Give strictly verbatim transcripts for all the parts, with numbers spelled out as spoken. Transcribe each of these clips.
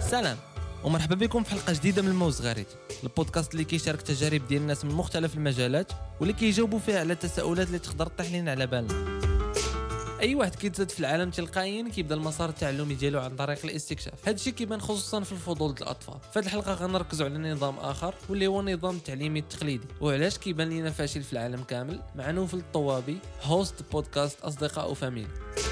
سلام ومرحبا بكم في حلقه جديده من الموز غريت، البودكاست اللي كيشارك تجارب ديال الناس من مختلف المجالات واللي كيجاوبوا فيها على تساؤلات اللي تقدر تطيح لنا على بالنا. اي واحد كيتزاد في العالم تلقائيا كيبدا المسار التعلمي ديالو عن طريق الاستكشاف. هذا الشيء كيبان خصوصا في الفضول ديال الاطفال. في هذه الحلقه غنركزوا على نظام اخر واللي هو النظام التعليمي التقليدي وعلاش كيبان لنا فاشل في العالم كامل. مع نوفل الطوابي هوست بودكاست اصدقاء وفاميلي.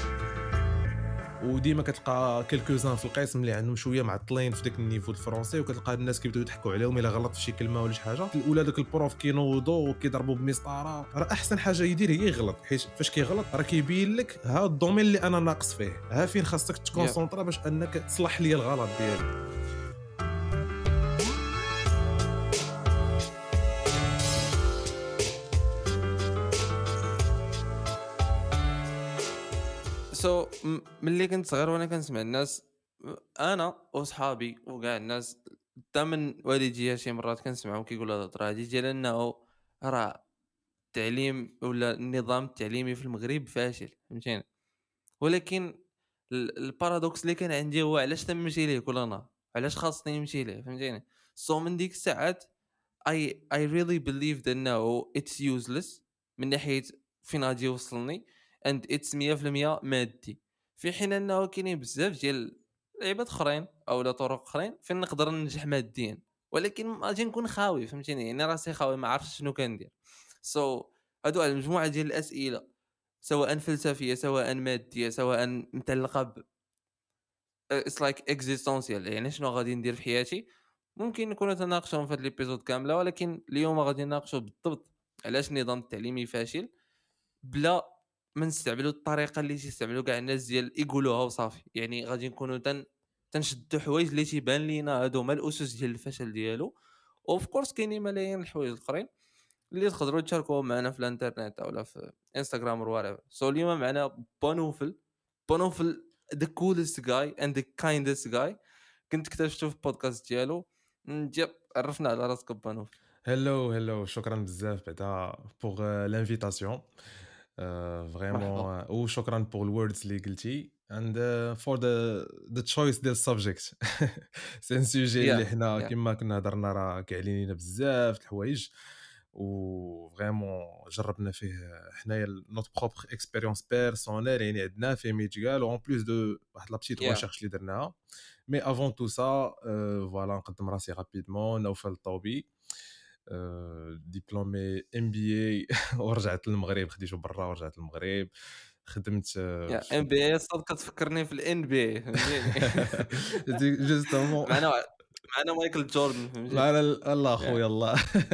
وديما كتلقى كلكوزان في القسم اللي عندهم شويه معطلين في داك النيفو الفرنسي، وكتلقى الناس كيبداو يضحكوا عليهم الا غلط في شي كلمه ولا شي حاجه. الاولى داك البروف كينوضوا وكيضربوا بمسطره، راه احسن حاجه يدير هي يغلط، حيت فاش كيغلط راه كيبين لك ها الدومين اللي انا ناقص فيه، ها فين خاصك تكونسونطرا باش انك تصلح لي الغلط ديالي. سو so, ملي كنت صغير وانا كنسمع الناس، انا وصحابي وكاع الناس حتى من والديا شي مرات كنسمعهم كيقولوا هاد الهضره هادي ديال انه راه التعليم ولا النظام التعليمي في المغرب فاشل، فهمتيني. ولكن البارادوكس اللي كان عندي هو علاش تنمشي ليه كل نهار، علاش خاصني نمشي ليه، فهمتيني. سو so, من ديك الساعات I I really believed انه it's useless من ناحيه فين غادي يوصلني and it's مية في المية مادي، في حين انه كاينين بزاف ديال لعيبات اخرين او لا طرق اخرين فين نقدر ننجح ماديا، ولكن غادي نكون خاوي، فهمتيني، يعني راسي خاوي ما عرفتش شنو كندير. سو so, هادو على مجموعه ديال الاسئله سواء فلسفيه سواء ماديه سواء متعلقه ب it's like existential، يعني شنو غادي ندير في حياتي. ممكن نكونوا تناقشوا في هذا الابيزود كامله، ولكن اليوم غادي نناقشوا بالضبط علاش النظام التعليمي فاشل بلا ما نستعملوا الطريقه اللي تيستعملوا كاع الناس ديال يقولوها وصافي. يعني غادي نكونوا تن تنشدوا حوايج اللي تيبان لينا هادو هما الاسس ديال الفشل ديالو. اوف كورس كاينين ملايين الحوايج الاخرين اللي تقدروا تشاركوهم معنا في الانترنت او في انستغرام ولا سو. اليوم معنا بونوفل بونوفل the coolest guy and the kindest guy كنت اكتشفته في البودكاست ديالو. نجيب عرفنا على راسك بونوفل. هلو هلو شكرا بزاف بعدا بوغ لانفيتاسيون فريمون، وشكرا بوغ الوردز اللي قلتي and uh, for the the choice ديال السبجيكت. سي ان سوجي اللي حنا كما كنا هضرنا راه كيعلينا بزاف د الحوايج و فريمون جربنا فيه حنايا نوت بروبر اكسبيريونس بيرسونيل، يعني عندنا فيه ميتيغال و ان بليس دو واحد لا بتيت ريشيرش اللي درناها. مي افون تو سا فوالا نقدم راسي رابيدمون. نوفل الطوبي، ديبلومي ام بي اي ورجعت للمغرب، خديته برا ورجعت للمغرب، خدمت ام بي اي. صدق كتفكرني في الان بي اي، فهمتيني. جوستومون معنا معنا مايكل جوردن، فهمتي. معنا الله خويا الله.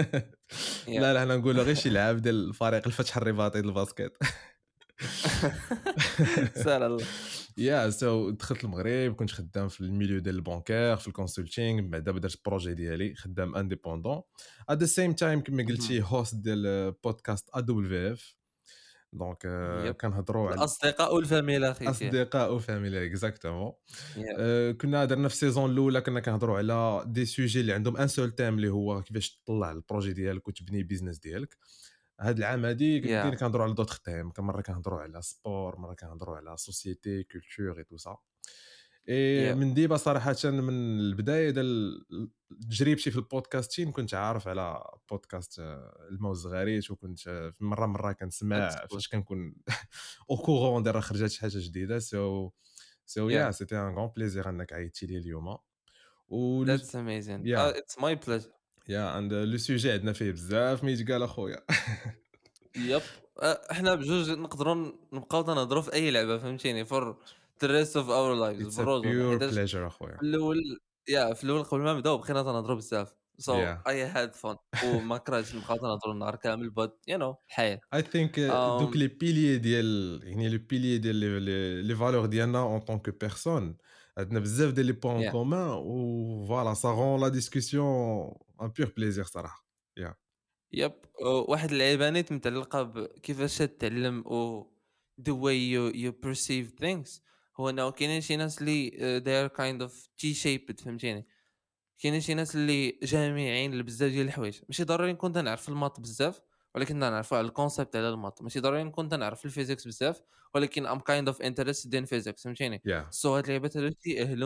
لا لا حنا نقولوا غير شي لعاب ديال الفريق الفتح الرباطي ديال الباسكيت. سال الله. يا سو دخلت المغرب، كنت خدام في الميليو ديال البانكير في الكونسلتينغ، من بعد بدرت البروجي ديالي خدام انديبوندون ات ذا سيم تايم كما قلتي هوست ديال بودكاست ا دبليو اف. دونك كنهضروا على الاصدقاء والفاميله اخي. اصدقاء وفاميلي اكزاكتومون. كنا درنا في السيزون الاولى كنا كنهضروا على دي سوجي اللي عندهم ان سول تيم اللي هو كيفاش تطلع البروجي ديالك وتبني بيزنس ديالك. هاد العام هادي بدينا yeah. كنهضروا على دوطخ تيم، مره كنهضروا على سبور، مره كنهضروا على سوسيتي كولتور اي تو سا. اي yeah. من ديبا صراحه من البدايه ديال تجربتي في البودكاستين كنت عارف على بودكاست الموز غريت، وكنت مره مره كنسمع فاش كنكون او كورون ديال خرجت شي حاجه جديده. سو سو يا سيتي ان غون بليزير انك عيطتي لي اليوم. و ذاتس اميزين. اتس ماي بليجر. يا اند لو سوجي عندنا فيه بزاف ما يتقال اخويا. يب احنا بجوج نقدروا نبقاو نهضروا في اي لعبه، فهمتيني، فور the rest of our lives. بروجو حيت اخويا في الاول يا في الاول قبل ما نبداو بقينا تنهضروا بزاف. so yeah. I had fun وما كرهتش نبقاو نهضروا النهار كامل but you know الحياه. I think uh, دوك لي بيليي ديال يعني لي بيليي ديال لي فالور ديالنا اون طون كو بيرسون عندنا بزاف ديال لي بوين كومون و فوالا سا غون لا ديسكوسيون ان بيور بليزير صراحه. يا yeah. يب واحد العيبانيت متعلقه بكيفاش تتعلم و the way you you perceive things هو انه كاينين شي ناس اللي they are kind of T-shaped، فهمتيني. كاينين شي ناس اللي جامعين لبزاف ديال الحوايج، ماشي ضروري نكون تنعرف الماط بزاف ولكن نعرفوا على الكونسيبت على الماط، ماشي ضروري نكون تنعرف الفيزيكس بزاف ولكن I'm kind of interested in physics، فهمتيني. yeah. سو هاد اللعبات هادو تيأهلوني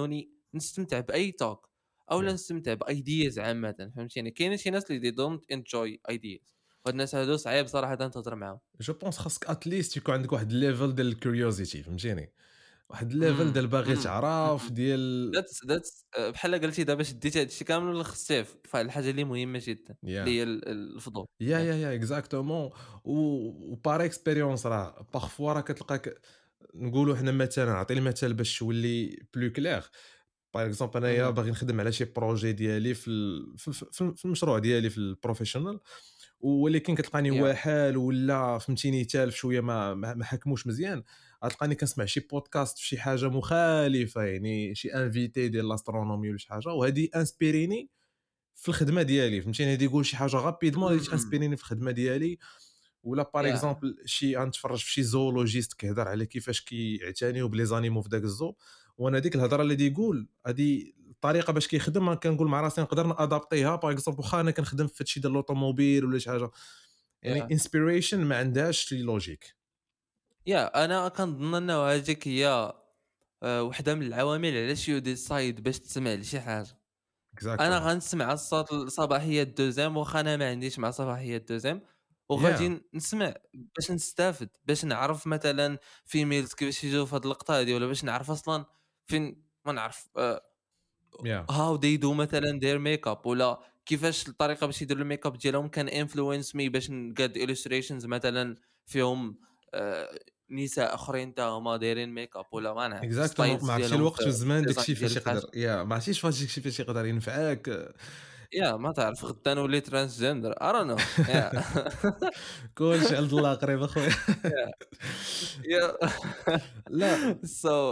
نستمتع باي توك او لا yeah. نستمتع بايدياز عامه، فهمتيني؟ كاينين شي ناس اللي دونت انجوي ايدياز، وهاد الناس هادو صعيب صراحه تهضر معاهم. جو بونس خاصك اتليست يكون عندك واحد الليفل ديال الكيوريوزيتي، فهمتيني، واحد الليفل امم ديال باغي امم تعرف ديال ذاتس ذاتس بحال قلتي دابا شديتي هادشي كامل ولا خصيه في واحد الحاجه اللي مهمه جدا يا اللي هي ال- الفضول. يا ياك. يا يا اكزاكتومون. و بار اكسبيريونس راه بارفوا راه كتلقاك، نقولوا حنا مثلا، نعطي المثال باش تولي بلو كلير. باغ اكزومبل انايا مهم. باغي نخدم على شي بروجي ديالي في ال- في في في المشروع ديالي في البروفيشنال، ولكن كتلقاني يا واحال ولا فهمتيني تالف شويه، ما ما ما حكموش مزيان، غتلقاني كنسمع شي بودكاست في شي حاجه مخالفه، يعني شي انفيتي ديال لاسترونومي ولا شي حاجه، وهذه انسبيريني في الخدمه ديالي، فهمتيني، غادي يقول شي حاجه غابيدمون غادي مم. تانسبيريني في الخدمه ديالي. ولا باغ يا اكزومبل شي غنتفرج في شي زولوجيست كيهضر على كيفاش كيعتنيو بلي زانيمو في داك الزو، وانا ديك الهضره اللي يقول هذه الطريقه باش كيخدم، كنقول مع راسي نقدر نادابتيها. باغ اكزومبل واخا انا كنخدم في هادشي ديال لوطوموبيل ولا شي حاجه، يعني يا انسبيريشن ما عندهاش شي لوجيك. يا انا كنظن انه هذيك هي آه، وحده من العوامل علاش يو ديسايد باش تسمع لشي حاجه. انا اكزاكتومون. غنسمع الصوت الصباحيه الدوزيام واخا انا ما عنديش مع صباحيه الدوزيام، يا وغادي نسمع باش نستافد، باش نعرف مثلا فيميلز كيفاش يجيو في هاد اللقطه هادي، ولا باش نعرف اصلا فين ما نعرف يا هاو دي دو مثلا دير ميك اب، ولا كيفاش الطريقه باش يديروا الميك اب ديالهم كان انفلونس مي باش نقاد illustrations مثلا فيهم آه، نساء اخرين تا هما دايرين ميك اب، ولا ما نعرف اكزاكتومون. ستايلز ما عرفتش ديالهم الوقت في والزمان الديزاين داكشي ديال فاش يقدر، الفاشن. يا ما عرفتيش فاش داكشي فاش يقدر ينفعك. يا ما تعرف غدا نولي ترانسجندر I don't know. يا كلشي عند الله قريب اخويا. يا يا لا، سو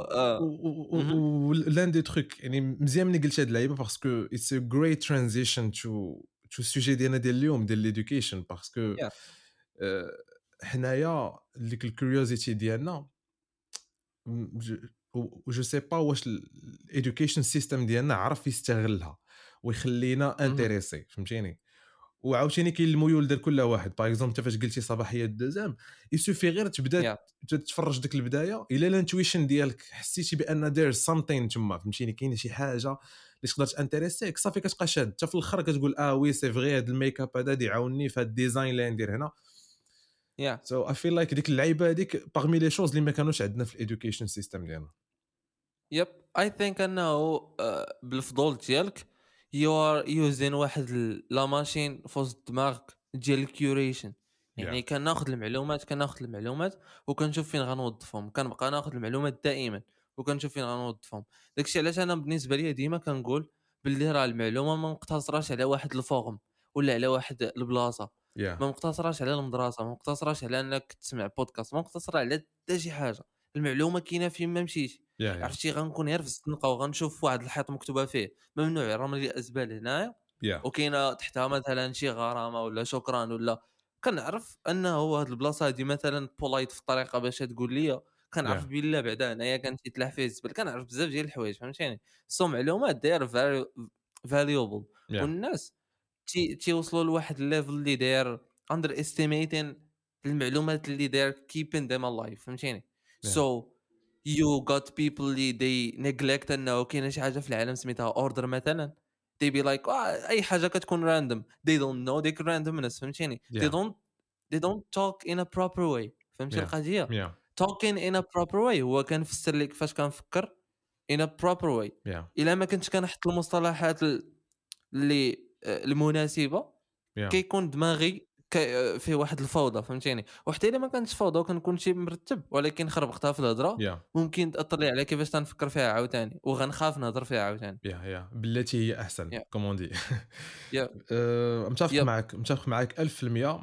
ولان دي تروك يعني مزيان ملي قلت هاد اللعيبه، باسكو اتس ا جريت ترانزيشن تو تو السوجي ديالنا ديال اليوم ديال ليدوكيشن، باسكو يا حنايا ديك الكيوريوزيتي ديالنا، جو سي با واش الادوكيشن سيستم ديالنا عرف يستغلها ويخلينا انتريسي، فهمتيني. وعاوتاني كاين الميول ديال كل واحد. باغ اكزومبل انت فاش قلتي صباحيه الدوزام، يسوفي غير تبدا يا تبدا تتفرج ديك البدايه، الا الانتويشن ديالك حسيتي بان دير سامثين تما، فهمتيني، كاينه شي حاجه اللي تقدر تانتريسيك، صافي كتبقى شاد حتى في الاخر كتقول اه وي سي فغي هذا الميك اب هذا يعاونني في هذا الديزاين اللي ندير هنا. يا سو اي فيل لايك ديك اللعيبه هذيك باغمي لي شوز اللي ما كانوش عندنا في الادوكيشن سيستم ديالنا. يب اي ثينك انه آه، بالفضول ديالك يو ار يوزين واحد ال- لا ماشين في وسط دماغك ديال الكيوريشن. يا يعني كناخذ المعلومات كناخذ المعلومات وكنشوف فين غنوظفهم، كنبقى ناخذ المعلومات دائما وكنشوف فين غنوظفهم. داكشي علاش انا بالنسبه لي ديما كنقول باللي راه المعلومه ما مقتصراش على واحد الفورم ولا على واحد البلاصه، يا ما مقتصراش على المدرسه، ما مقتصراش على انك تسمع بودكاست، ما مقتصره على حتى شي حاجه. المعلومه كاينه فين ما مشيتي. يا يا عرفتي غنكون غير في الزنقه وغنشوف واحد الحيط مكتوبه فيه ممنوع رمي الازبال هنايا، يا وكاينه تحتها مثلا شي غرامه ولا شكرا، ولا كنعرف انه هو هاد البلاصه هادي مثلا بولايت في الطريقه باش تقول لي، كنعرف يا بلا بعدا هنايا كان تيتلاح فيه الزبل، كنعرف بزاف ديال الحوايج، فهمتيني؟ سو معلومات داير فاليوبل، يا والناس تي تيوصلوا لواحد الليفل اللي داير اندر استيميتين المعلومات اللي داير keeping them alive، فهمتيني؟ يا سو you got people اللي they neglect انه كاينه شي حاجه في العالم سميتها اوردر مثلا، they be like آه اي حاجه كتكون random they don't know ديك randomness، فهمتيني؟ they يا don't they don't talk in a proper way، فهمتي يا القضيه؟ يا talking in a proper way هو كنفسر لك كيفاش كنفكر in a proper way. يا الا ما كنتش كنحط المصطلحات ال- اللي آه، المناسبه يا كيكون دماغي ك- فيه واحد الفوضى، فهمتيني؟ وحتى الا ما كانتش فوضى وكنكون شي مرتب ولكن خربقتها في الهضره يا ممكن تاثر لي على كيفاش تنفكر فيها عاوتاني وغنخاف نهضر فيها عاوتاني. يا يا بالتي هي احسن يا كومون دي. يا أه، متفق يب معك متفق معك ألف في المية.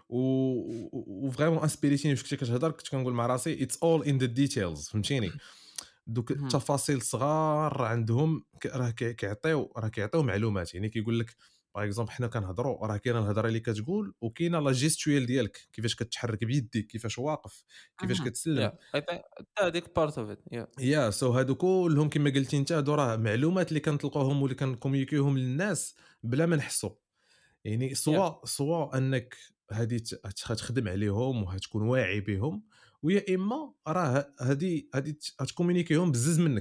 و وفريمون انسبيريتيني فاش كنتي كتهضر، كنت كنقول مع راسي اتس اول ان ذا ديتيلز، فهمتيني. دوك مهم. التفاصيل صغار عندهم ك- راه كي- كيعطيو راه كيعطيو معلومات، يعني كيقول لك باغ اكزومبل حنا كنهضروا راه كاينه الهضره اللي كتقول وكاينه لا جيستويال ديالك، كيفاش كتحرك بيديك، كيفاش واقف، كيفاش مهم. كتسلم. يا اي ثينك هذيك بارت اوف ات. يا يا سو هادو كلهم كما قلتي انت، هادو راه معلومات اللي كنطلقوهم واللي كنكومينيكيوهم للناس بلا ما نحسوا. يعني يا سواء سواء انك هادي ت- تخدم عليهم وهتكون واعي بهم، ويا اما راه هادي هادي تكومينيكيهم بزز منك.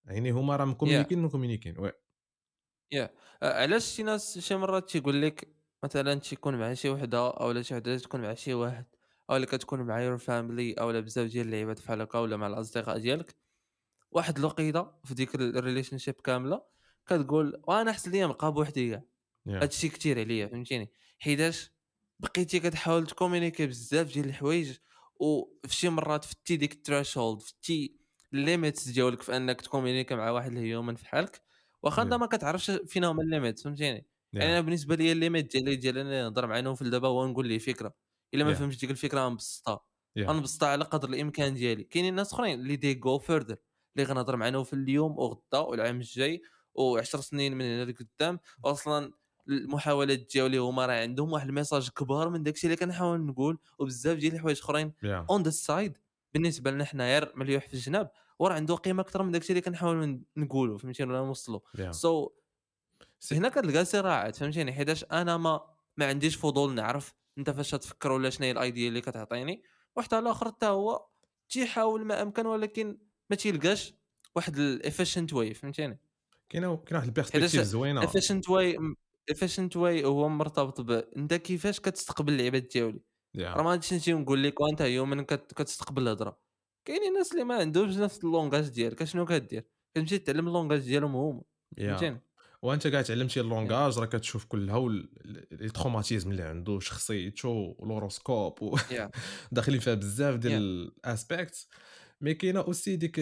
يعني هما راه ياه مكومونيكين مكومونيكين وي. ياه آه، علاش شي ناس شي مرات تيقول لك مثلا تيكون مع شي وحده اولا شي وحده تكون مع شي واحد اولا كتكون مع يور فاميلي اولا بزاف ديال اللعيبات بحال هكا ولا مع الاصدقاء ديالك واحد الوقيته في ديك الريليشن شيب كامله كتقول وانا احسن ليا نبقى بوحدي كاع. يا هادشي كتير عليا فهمتيني حيتاش بقيتي كتحاول تكومونيكي بزاف ديال الحوايج وفي شي مرات فتي ديك الثريشولد فتي الليميتس ديالك في انك تكومونيكي مع واحد الهيومن في حالك واخا انت يا ما كتعرفش فين هما الليميتس فهمتيني. يعني يا انا بالنسبه لي الليميت ديالي ديال انا نهضر مع نوفل دابا هو نقول ليه فكره الا ما يا فهمتش ديك الفكره غنبسطها يا غنبسطها على قدر الامكان ديالي. كاينين ناس اخرين اللي دي جو فيردر اللي غنهضر مع نوفل اليوم وغدا والعام الجاي و10 سنين من هنا لقدام اصلا المحاولات ديالي هما راه عندهم واحد الميساج كبار من داكشي اللي كنحاول نقول وبزاف ديال الحوايج اخرين يا اون ذا سايد بالنسبه لنا حنا غير مليوح في الجناب وراه عنده قيمه اكثر من داكشي اللي كنحاول نقولوا فهمتيني ولا نوصلوا. يا سو so, سي هنا كتلقى صراعات فهمتيني حيتاش انا ما ما عنديش فضول نعرف انت فاش تفكر ولا شنو هي الايديا اللي كتعطيني وحتى الاخر حتى هو تيحاول ما امكن ولكن ما تيلقاش واحد الافيشنت واي فهمتيني. كاينه كاينه واحد حيتاش البيرسبكتيف زوينه. efficient way efficient way هو مرتبط ب انت كيفاش كتستقبل اللعيبات ديالي. راه يا ما غاديش نجي نقول لك وانت هيومن كت... كتستقبل الهضره. كاينين الناس اللي ما عندهمش نفس اللونغاج ديالك شنو كدير كتمشي تعلم اللونغاج ديالهم هما يا فهمتيني. وانت كاع تعلمتي يا اللونغاج راه كتشوف كلها وال- لي تروماتيزم اللي عنده شخصيته والهوروسكوب و يا داخلين فيها بزاف ديال يا الاسبيكت. مي كاينه اوسي ديك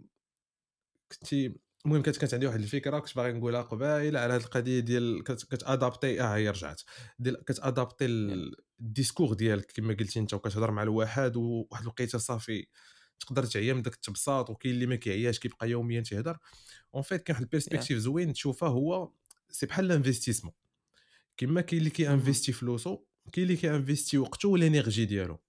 كنتي المهم كانت كانت عندي واحد الفكره كنت باغي نقولها قبيله على هذه القضيه ديال كت- كتادابتي اه هي رجعت ديال كتادابتي يا ال- الديسكور ديالك كما قلتي انت وكتهضر مع الواحد وواحد الوقيته صافي تقدر تعيا من داك التبساط وكاين اللي ما كيعياش كيبقى يوميا تيهضر. اون فيت كاين واحد يا البيرسبكتيف زوين تشوفها هو سي بحال الانفستيسمون. كما كاين اللي مهم. كيانفيستي فلوسو كاين اللي كيانفيستي وقته والانرجي ديالو.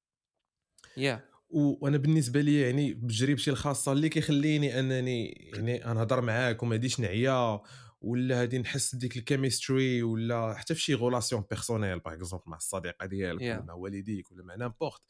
يا و- وانا بالنسبه لي يعني بتجربتي الخاصه اللي كيخليني انني يعني نهضر معاك وما غاديش نعيا ولا غادي نحس بديك الكيمستري ولا حتى في شي غولاسيون بيرسونيل باغ اكزومبل مع الصديقه ديالك ولا يا مع والديك ولا مع نامبورت.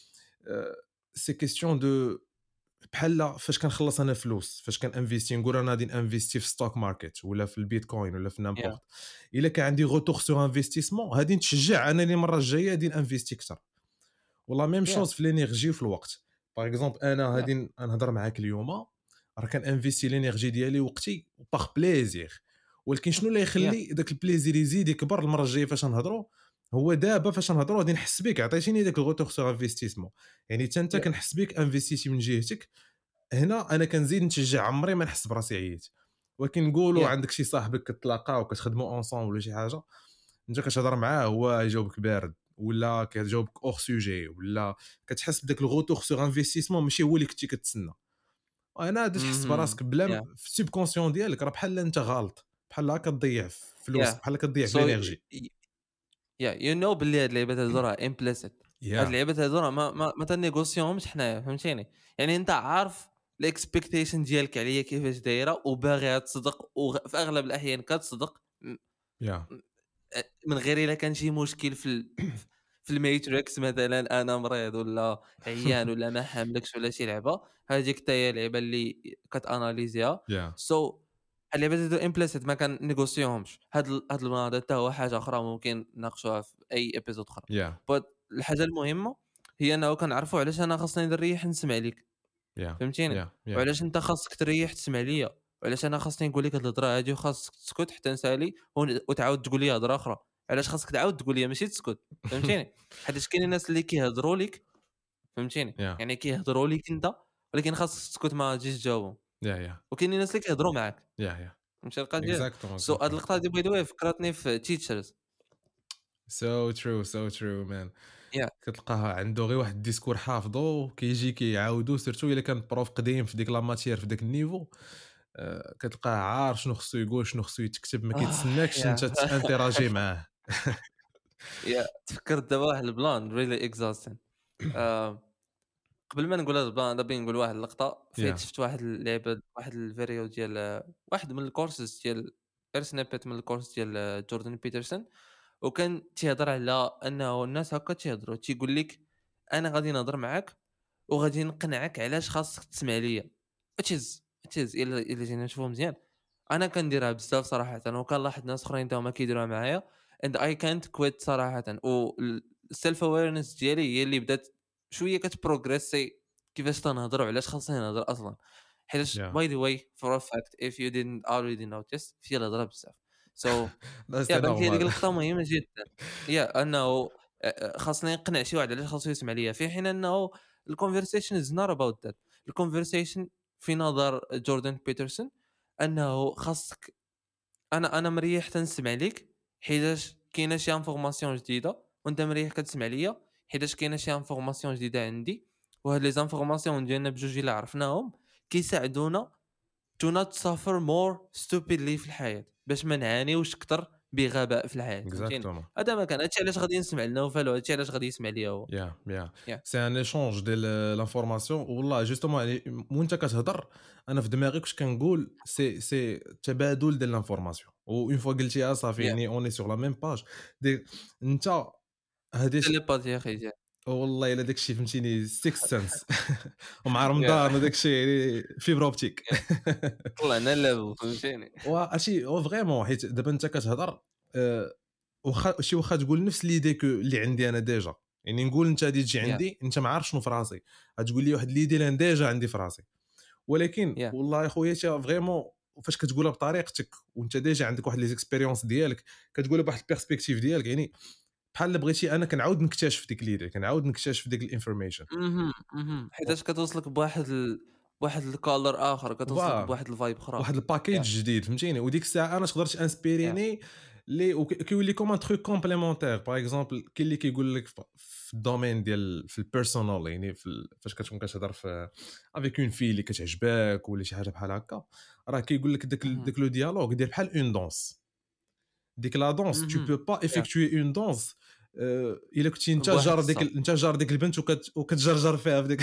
سي كيستيون دو بحال فاش كنخلص انا فلوس فاش كان انفيستي نقول انا غادي انفيستي في ستوك ماركت ولا في البيتكوين ولا في يا نامبورت. الا كان عندي غوتور سور انفستيسمون غادي نتشجع انني المره الجايه غادي انفيستي اكثر. ولا ميم يا شوز في لينيرجي وفي الوقت. باغ اكزومبل انا يا غادي نهضر معاك اليوم راه كان انفيستي لينيرجي ديالي وقتي باغ بليزير. ولكن شنو اللي يا يخلي داك البليزير يزيد يكبر المره الجايه فاش نهضروا هو دابا فاش نهضروا غادي نحس بك عطيتيني داك الغوتور سور انفستيسمون. يعني حتى انت يا كنحس بك انفستيتي من جهتك. هنا انا كنزيد نتشجع عمري ما نحس براسي عييت. ولكن نقولوا يا عندك شي صاحبك كتلاقاو وكتخدموا اونصون ولا شي حاجه انت كتهضر معاه هو يجاوبك بارد ولا كيجاوبك اور سوجي ولا كتحس بداك الغوتور سور انفستيسمون ماشي هو اللي كنتي كتسنى. وانا غادي تحس مهم. براسك بلا يا م- في السوب كونسيون ديالك راه بحال انت غلط بحال هكا كتضيع في فلوس يا بحال كتضيع في سو الانرجي. يا يو نو باللي هاد اللعيبات هادو راه امبليسيت. هاد يا اللعيبات هادو راه ما ما, ما تنيغوسيوهمش حنايا فهمتيني. يعني انت عارف الاكسبكتيشن ديالك عليا كيفاش دايره وباغيها تصدق وفي اغلب الاحيان كتصدق م- يا م- من غير الا كان شي مشكل في ال... في الميتريكس مثلا انا مريض ولا عيان ولا ما حاملكش ولا شي لعبه هذيك حتى هي اللعبه اللي كتاناليزيها. يا سو so, اللعبات هادو امبليسيت ما كنيغوسيوهمش. هاد ال- هاد المناضل حتى هو حاجه اخرى ممكن نناقشوها في اي ابيزود اخرى. يا بس الحاجه المهمه هي انه كنعرفوا علاش انا خاصني نريح نسمع ليك يا فهمتيني. يا يا وعلاش انت خاصك تريح تسمع ليا وعلاش انا خاصني نقول لك هاد الهضره هادي وخاصك تسكت حتى نسالي ون- وتعاود تقول لي هضره اخرى. علاش خاصك تعاود تقول لي ماشي تسكت فهمتيني. حيت كاين الناس اللي كيهضروا لك فهمتيني يا يعني كيهضروا لك انت ولكن خاصك تسكت ما تجيش تجاوبهم. يا يا وكاين الناس اللي كيهضروا معاك يا يا فهمتي القضيه. اكزاكتومون سو هاد اكزاكتومون. اللقطه هادي باي ذا واي فكرتني في تيتشرز. سو ترو سو ترو مان. يا كتلقاه عنده غير واحد الديسكور حافظو كيجي كيعاودو سيرتو الا كان بروف قديم في ديك لا ماتير في داك النيفو. آه، كتلقاه عارف شنو خصو يقول شنو خصو يتكتب ما آه كيتسناكش يا انت تانتيراجي معاه. يا تفكرت دابا واحد البلان ريلي اكزاستين. قبل ما نقول هذا البلان دابا نقول واحد اللقطه فايت يا شفت واحد اللعبه واحد الفيديو ديال واحد من الكورسز ديال غير سنيبت من الكورس ديال جوردن بيترسون. وكان تيهضر على انه الناس هكا تيهضروا تيقول لك انا غادي نهضر معاك وغادي نقنعك علاش خاصك تسمع ليا which is تيز الا الا جينا نشوفو مزيان انا كنديرها بزاف صراحه وكنلاحظ ناس اخرين تاهما كيديروها معايا and I can't quit صراحه والسيلف اويرنس ديالي هي اللي بدات شويه كتبروغريسي كيفاش تنهضر وعلاش خاصني نهضر اصلا حيت يا باي ذا واي فور ا فاكت if you didn't already notice في الهضره بزاف so لا يا سي بانت لي ديك نورمال. اللقطه مهمه جدا يا انه آه، خاصني نقنع شي واحد علاش خاصو يسمع ليا في حين انه الكونفرسيشن از نوت اباوت ذات الكونفرسيشن في نظر جوردن بيترسون انه خاصك انا انا مريح تنسمع ليك حيتاش كاينه شي انفورماسيون جديده وانت مريح كتسمع ليا حيتاش كاينه شي انفورماسيون جديده عندي وهاد لي انفورماسيون ديالنا بجوج الا عرفناهم كيساعدونا to not suffer more stupidly في الحياة باش ما نعانيوش اكثر بغباء في الحياة فهمتيني اكزاكتومون. هذا ما كان هادشي علاش غادي نسمع لنوفل وهادشي علاش غادي يسمع ليا هو يا يا يا سي ان ايشونج ديال لانفورماسيون والله جوستومون يعني وانت كتهضر انا في دماغي كنت كنقول سي سي تبادل ديال لانفورماسيون و اون فوا قلتيها صافي يا يعني اوني سور لا ميم باج دي انت هادي تيليباثي يا اخي جا والله الا داكشي فهمتيني سيكس سنس ومع يا رمضان وداكشي يعني فيبر اوبتيك. طلعنا لابو فهمتيني واشي او فريمون حيت دابا انت كتهضر آه، واخا شي واخا تقول نفس ليدي كو اللي عندي انا ديجا يعني نقول انت غادي تجي يا عندي انت ما عارف شنو في راسي غتقول لي واحد ليدي اللي أنا ديجا عندي في راسي ولكن يا والله يا خويا تا فريمون فاش كتقولها بطريقتك وانت ديجا عندك واحد لي زيكسبيريونس ديالك كتقولها بواحد البيرسبكتيف ديالك يعني بحال اللي بغيتي انا كنعاود نكتشف ديك ليدي كنعاود نكتشف ديك الانفورميشن. اها اها حيتاش كتوصلك بواحد ال... بواحد الكولر اخر كتوصلك فوالا بواحد الفايب اخرى واحد الباكيج يا جديد فهمتيني وديك الساعه انا تقدر يا تانسبيريني لي وك- كيولي كوم ان تروك كومبليمونتير باغ اكزومبل كاين اللي كيقول لك ف- في الدومين ديال في البيرسونال يعني في ال- فاش كتكون كتهضر في افيك اون في اللي كتعجبك ولا شي حاجه بحال هكا راه كيقول لك داك ال- اها داك لو ديالوغ دير بحال اون دونس ديك لا دونس tu اها peux pas يا effectuer une danse آه، الا كنتي انت بواحد جار ديك الصوت ال- انت جار ديك البنت وكت وكتجرجر فيها في ديك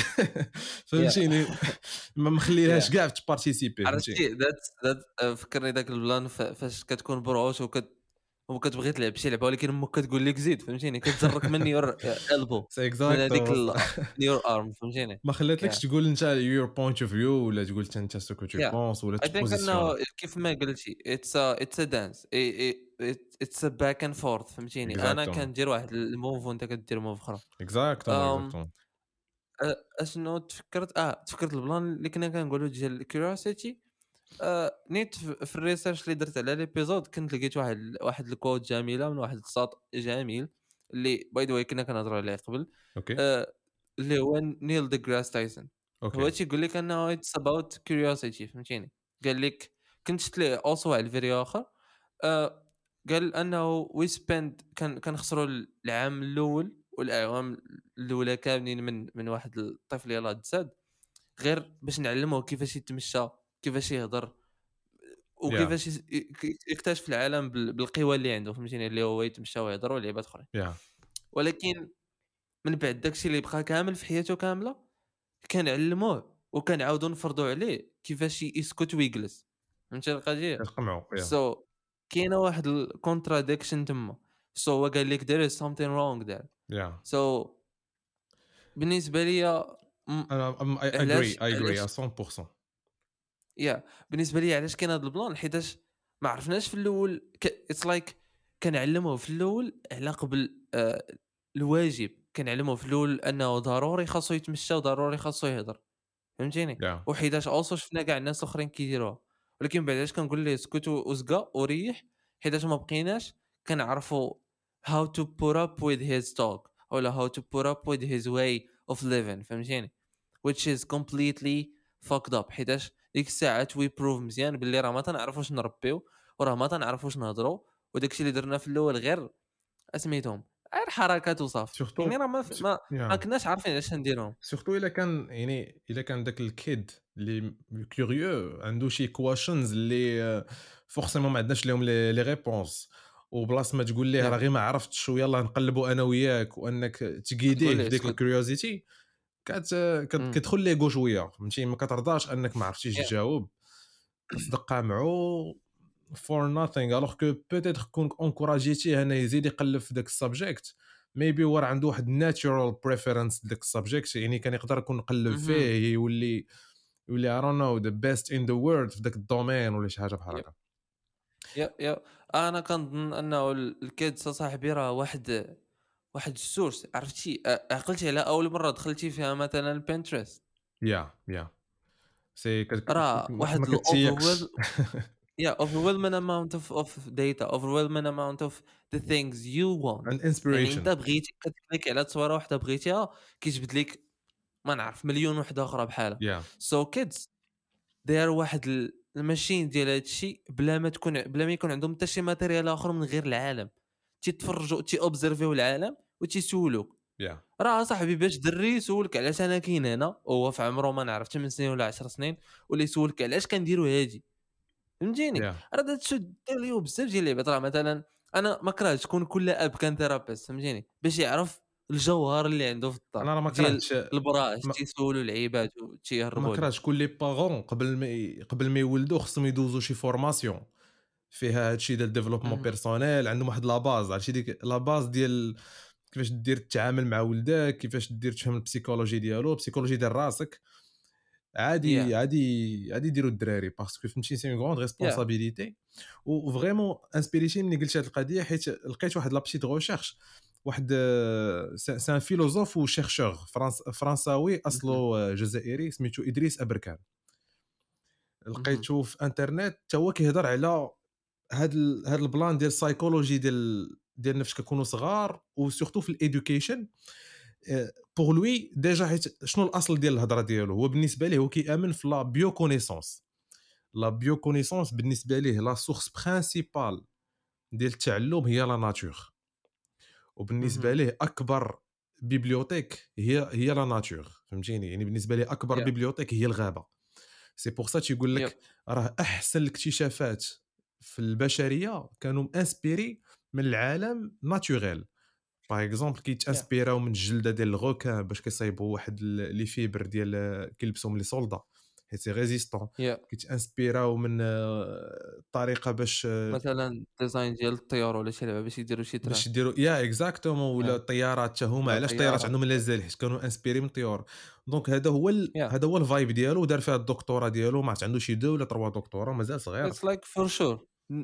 يا فهمتيني ما مخليهاش يا كاع تبارتيسيبي فهمتي. عرفتي ذات ذات فكرني داك البلان ف- فاش كتكون بروش وكت وكتبغي تلعب شي لعبه ولكن امك كتقول لك زيد فهمتيني كتجرك من يور البو سي من هذيك اكزاكتومون ال- من يور ارم فهمتيني ما خلاتلكش يا تقول انت your point of view ولا تقول حتى انت سو كو تو يا بونس ولا اي ثينك انه تبوزيسيونا. كيف ما قلتي اتس اتس ا دانس اتس ا باك اند فورث فهمتيني انا اكزاكتومون كندير واحد الموف وانت كدير موف اخرى اكزاكتومون أم، اكزاكتومون أ- اشنو تفكرت اه تفكرت البلان اللي كنا كنقولوا ديال الكيوريوسيتي آه، نيت في في الريسيرش اللي درت على ليبيزود كنت لقيت واحد واحد الكود جميله من واحد الساط جميل اللي باي ذا واي كنا كنهضروا عليه قبل اوكي آه، اللي هو نيل ديغراس تايسون هو اوكي تيقول لك انه اتس اباوت كيوريوسيتي فهمتيني قال لك كنت شفت ليه اوسو على الفيديو اخر آه، قال انه وي سبند كان كنخسروا العام الاول والاعوام الاولى كاملين من من واحد الطفل يلاه تزاد غير باش نعلموه كيفاش يتمشى كيفاش يهضر يا وكيفاش يس- يك- يكتشف العالم بال- بالقوى اللي عنده فهمتيني اللي هو يتمشى ويهضر ولعبات اخرين يا ولكن من بعد داكشي اللي بقى كامل في حياته كامله كنعلموه وكنعاودو نفرضوا عليه كيفاش يسكت ويجلس فهمتي القضيه كتقمعوا يا سو so, كاينه واحد الكونتراديكشن تما سو so, هو قال لك there is something wrong there يا سو so, بالنسبه لي م- انا اي اجري علاش اي اجري علاش مية بالمية. يا بالنسبه لي علاش كاين هذا البلان حيتاش ما عرفناش في الاول اتس لايك like كنعلموه في الاول على قبل آه الواجب كنعلموه في الاول انه ضروري خاصو يتمشى وضروري خاصو يهضر فهمتيني يا وحيتاش اوصو شفنا كاع الناس الاخرين كيديروها ولكن بعد علاش كنقول ليه اسكت وزقا وريح حيتاش ما بقيناش كنعرفوا how to put up with his talk ولا how to put up with his way of living فهمتيني which is completely fucked up حيتاش ديك الساعه وي بروف مزيان باللي راه ما تنعرفوش نربيو وراه ما تنعرفوش نهضروا وداكشي اللي درنا في الاول غير اسميتهم غير حركات وصافي يعني سورتو راه ما ف- ما, ما يا كناش عارفين علاش نديرهم سورتو الا كان يعني الا كان داك الكيد اللي كيوريو عنده شي كواشنز اللي فورسيمون ما عندناش لهم لي لي ريبونس وبلاص ما تقول ليه راه يا غير ما عرفتش ويلا نقلبوا انا وياك وانك تقول تقيديه لي في ديك اسكت الكيوريوزيتي كت كت- امم كتدخل ليه شويه فهمتي ما كترضاش انك ما عرفتيش يا تجاوب كتصدق معو فور ناثينغ الوغ كو بوتيتر كون انكوراجيتيه انا يزيد يقلب في داك السبجيكت ميبي هو راه عنده واحد ناتشورال بريفيرنس داك السبجيكت يعني كان يقدر يكون يقلب مهم. فيه يولي يولي I don't know the best in the world في داك الدومين ولا شي حاجه بحال يب هكا. يب يب انا كنظن انه ال- الكيدز صاحبي راه واحد واحد السورس، عرفتي؟ أ- عقلتي على اول مره دخلتي فيها مثلا بنترست، يا يا سي كت- راه ما ما واحد كتسيقش. الاوفر. Yeah, overwhelming amount of of data, overwhelming amount of the things you want. and يعني انت inspiration. بغيتي كتكليكي على تصويره واحده بغيتيها، كيجبد لك ما نعرف مليون وحده اخرى بحالها. يا So kids داير واحد ال- الماشين ديال هذا الشيء بلا ما تكون بلا ما يكون عندهم حتى شي ماتيريال اخر من غير العالم، تيتفرجوا تي اوبزرفيو العالم وتيسولوك. يا راه صاحبي باش دري يسولك علاش انا كاين هنا وهو في عمره ما نعرف ثماني سنين ولا عشر سنين، ولا يسولك علاش كنديروا هادي، فهمتيني؟ يا راه دا تشد دير ليه بزاف ديال اللعبات. راه مثلا انا ما كرهتش تكون كل اب كان ثيرابيست، فهمتيني؟ باش يعرف الجوهر اللي عنده في الدار انا راه ما ديال كرهتش البراش ما, تيسولوا العيبات ما وتيهربوا ليه. كرهتش كل لي بارون قبل ما ي- قبل ما يولدوا خصهم يدوزوا شي فورماسيون فيها هادشي ديال ديفلوبمون اهم. بيرسونيل، عندهم واحد لا باز، عرفتي ديك لا باز ديال كيفاش دير تتعامل مع ولدك، كيفاش دير تفهم البسيكولوجي ديالو، البسيكولوجي ديال راسك. ياه عادي عادي عادي يديروا الدراري باسكو فهمتي سي اون غروند ياه ريسبونسابيلتي. وفريمون انسبيريتي ملي قلت هاد القضيه حيت لقيت واحد لا بسيت غوشيرش. واحد سي ان فيلوزوف و شيرشور فرنس فرنساوي اهم. اصله جزائري سميتو ادريس ابركان. اهم. لقيتو في انترنت حتى هو كيهضر على هاد ال... هاد البلان ديال السايكولوجي ديال ديال فاش كنكونوا صغار وسورتو في الادوكيشن. بور لوي ديجا حيت شنو الاصل ديال الهضره ديالو، هو بالنسبه ليه هو كيامن في لا بيو كونيسونس. لا بيو كونيسونس بالنسبه ليه لا سورس برينسيبال ديال التعلم هي لا ناتور، وبالنسبه اهم. ليه اكبر بيبليوتيك هي هي لا ناتور، فهمتيني؟ يعني بالنسبه ليه اكبر ياه بيبليوتيك هي الغابه. سي بور سا تيقول يب لك راه احسن الاكتشافات في البشريه كانوا انسبيري من العالم ناتوريل. باغ اكزومبل ياه كيتانسبيراو من الجلده ديال الغوكان باش كيصايبوا واحد ال- لي فيبر ديال كيلبسوهم لي سولدا حيت سي ريزيستون. ياه كيتانسبيراو من آه، الطريقه باش آه، مثلا ديزاين ديال الطيور ولا شي لعبه باش يديروا شي تران. باش يديروا يا اكزاكتومون. ولا ياه الطيارات حتى هما، ولا علاش الطيارات طيارات. عندهم لازال حيت كانوا انسبيري من الطيور. دونك هذا هو ال... ياه هذا هو الفايب ديالو، دار فيها الدكتوراه ديالو، ما عرفت عنده شي دو ولا تروا دكتوراه مازال صغير. it's like for sure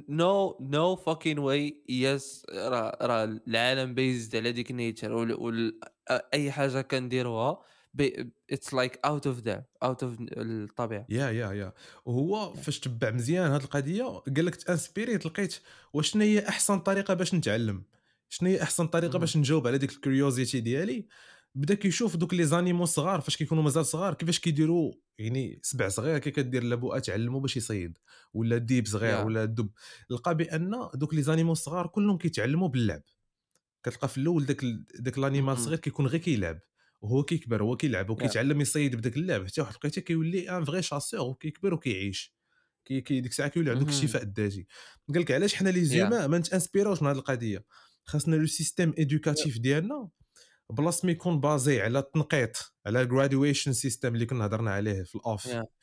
no no fucking way yes. راه راه العالم بيزد على ديك نيتشر وال, وال اي حاجه كنديروها بي... it's like out of there out of الطبيعه. يا يا يا وهو yeah. فاش تبع مزيان هاد القضيه قال لك تانسبيريت لقيت واش شنو هي احسن طريقه باش نتعلم، شنو هي احسن طريقه مهم. باش نجاوب على ديك الكيوريوزيتي ديالي. بدا كيشوف دوك لي زانيمو صغار فاش كيكونوا مازال صغار كيفاش كيديروا، يعني سبع صغير كي كدير لابوءه تعلموا باش يصيد، ولا ديب صغير yeah. ولا دب. لقى بان دوك لي زانيمو صغار كلهم كيتعلموا باللعب. كتلقى في الاول داك ال- داك لانيمال مهم. الصغير كيكون غير كيلعب، وهو كيكبر هو كيلعب yeah. وكيتعلم يصيد بداك اللعب حتى واحد لقيته كيولي ان فغي شاسور وكيكبر وكيعيش. كي كي ديك الساعه كيولي عندك مهم. الشفاء الذاتي. قال لك علاش حنا لي yeah. زوما ما نتانسبيروش من هذه القضيه. خاصنا لو سيستيم yeah. ادوكاتيف ديالنا بلاص ما يكون بازي على التنقيط، على الجراديويشن سيستم اللي كنا هضرنا عليه في الاوف، yeah.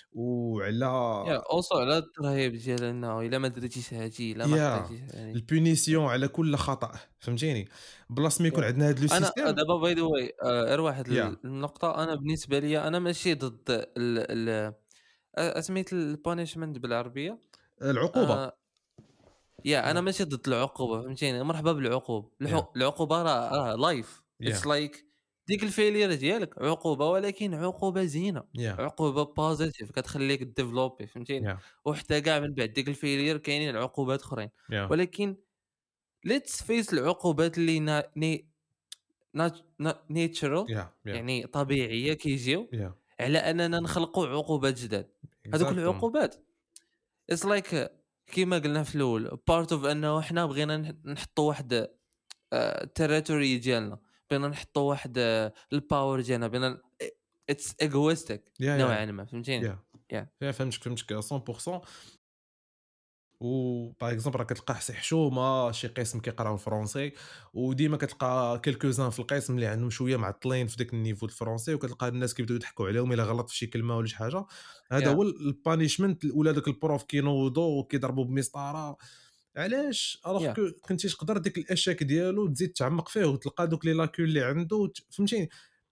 وعلى yeah. also على الترهيب ديال انه الا ما درتيش هادي الا ما يا خديتيش هادي. yeah. البونيسيون على كل خطا، فهمتيني؟ بلاص ما يكون yeah. عندنا هذا لو انا سيستيم. دابا باي ذا واي غير واحد يا النقطه. انا بالنسبه لي انا ماشي ضد ال ال أ سميت الpunishment بالعربية. العقوبه. آآ ياه أنا ماشي ضد العقوبة، فهمتيني؟ مرحبا بالعقوبة. يا الحو العقوبة راه راه life. it's يا like ديك الfailure ديالك عقوبة، ولكن عقوبة زينة، يا عقوبة positive كتخليك تdevelopي، فهمتيني؟ يا وحتى كاع من بعد ديك الfailure كاينين عقوبات أخرين، يا ولكن let's face العقوبات اللي نا ني نات نا natural يا يا يعني طبيعية كيجيو يا على أننا نخلقوا عقوبات جداد. هذوك اكزاكتومون. العقوبات It's like كيما قلنا في الأول part of أنه حنا بغينا نح- نحطوا واحد التريتوري ديالنا، بغينا نحطوا واحد الباور ديالنا، بغينا اتس egoistic يا يا نوعا ما، فهمتيني؟ يا yeah. يا فهمتك فهمتك مية بالمية. و باغ اكزومبل راه كتلقى حسي حشومه شي قسم كيقراو الفرونسي، وديما كتلقى كيلكوزان في القسم اللي عندهم شويه معطلين في داك النيفو الفرونسي، وكتلقى الناس كيبداو يضحكوا عليهم الا غلط في شي كلمه ولا شي حاجه. هذا Yeah. هو البانيشمنت، ولا داك البروف كينوضوا وكيضربوا بمسطره. علاش؟ الوغ Yeah. كو كنتي تقدر ديك الاشاك ديالو تزيد تعمق فيه وتلقى دوك لي لاكول اللي عنده وت- فهمتيني؟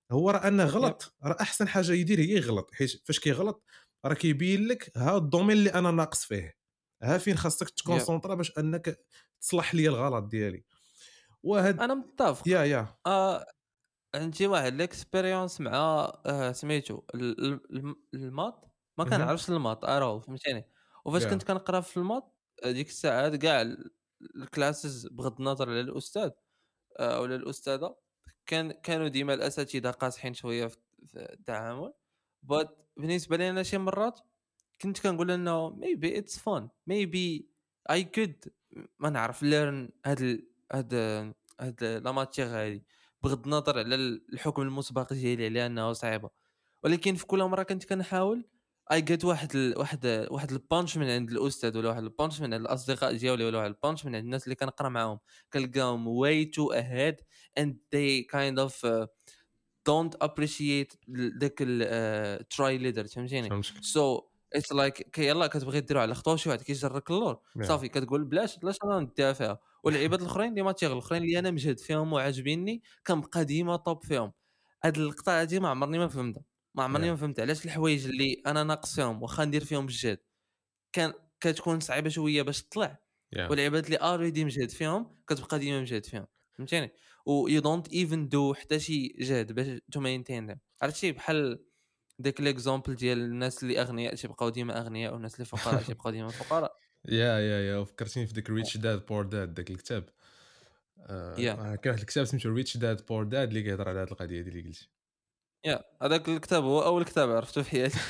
هو راه أنه يب غلط، راه أحسن حاجة يدير هي يغلط، حيت فاش كيغلط راه كيبين لك ها الدومين اللي أنا ناقص فيه، ها فين خاصك يب تكونسونطرا باش أنك تصلح ليا الغلط ديالي، وهاد انا متفق. يا يا آه عندي واحد ليكسبيريونس مع آه سميتو ال- ال- الم- الماط. ما اهم، كنعرفش الماط ارو فهمتيني. وفاش كنت يا كنقرا في الماط آه، ديك الساعات كاع ال- الكلاسز بغض النظر على الاستاذ آه، ولا الاستاذه كان كانوا ديما الاساتذه قاصحين شويه في في التعامل. but بالنسبه لي انا شي مرات كنت كنقول انه maybe it's fun maybe I could ما نعرف learn هاد ال... هاد هاد لا ماتيغ هادي بغض النظر على ال- الحكم المسبق ديالي على انه صعيبه. ولكن في كل مره كنت كنحاول I get واحد ال... واحد واحد البانش من عند الاستاذ ولا واحد البانش من عند الاصدقاء ديالي ولا واحد البانش من عند الناس اللي كنقرا معاهم. كنلقاهم way too ahead and they kind of uh, don't appreciate ال- ذاك ال تراي ليدر فهمتيني. فهمتك، سو اتس لايك كي يلاه كتبغي ديرو على خطوه شي واحد كيجرك اللور يا صافي كتقول بلاش بلاش انا نديها فيها. واللعيبات الاخرين اللي ماتيغ الاخرين اللي انا مجهد فيهم وعاجبيني كنبقى ديما طوب فيهم. هاد اللقطه هادي ما عمرني ما فهمتها. ما عمرني يا ما فهمت علاش الحوايج اللي انا ناقص فيهم واخا ندير فيهم الجهد كان كتكون صعيبه شويه باش تطلع. يا والعباد اللي already مجهد فيهم كتبقى ديما مجهد فيهم فهمتيني. و you don't even do حتى شي جهد باش to maintain them. عرفتي بحال داك ليكزامبل ديال الناس اللي اغنياء تيبقاو ديما اغنياء والناس اللي فقراء تيبقاو ديما فقراء. يا يا يا فكرتيني في داك ريتش داد بور داد داك الكتاب، يا آآ كاين واحد الكتاب سميتو ريتش داد بور داد اللي كيهضر على هاد القضية دي اللي قلتي. يا هذاك الكتاب هو اول كتاب عرفته في حياتي.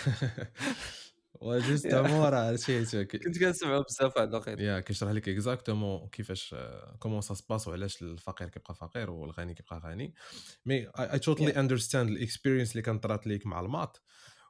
يا وجوستومون راه عرفتي كنت كنسمعو بزاف واحد الوقيته. يا كيشرح لك اكزاكتومون كيفاش كومون سا سباس وعلاش الفقير كيبقى فقير والغني كيبقى غني. مي اي توتالي يا اندرستاند الاكسبيرينس اللي كانت طرات ليك مع الماط،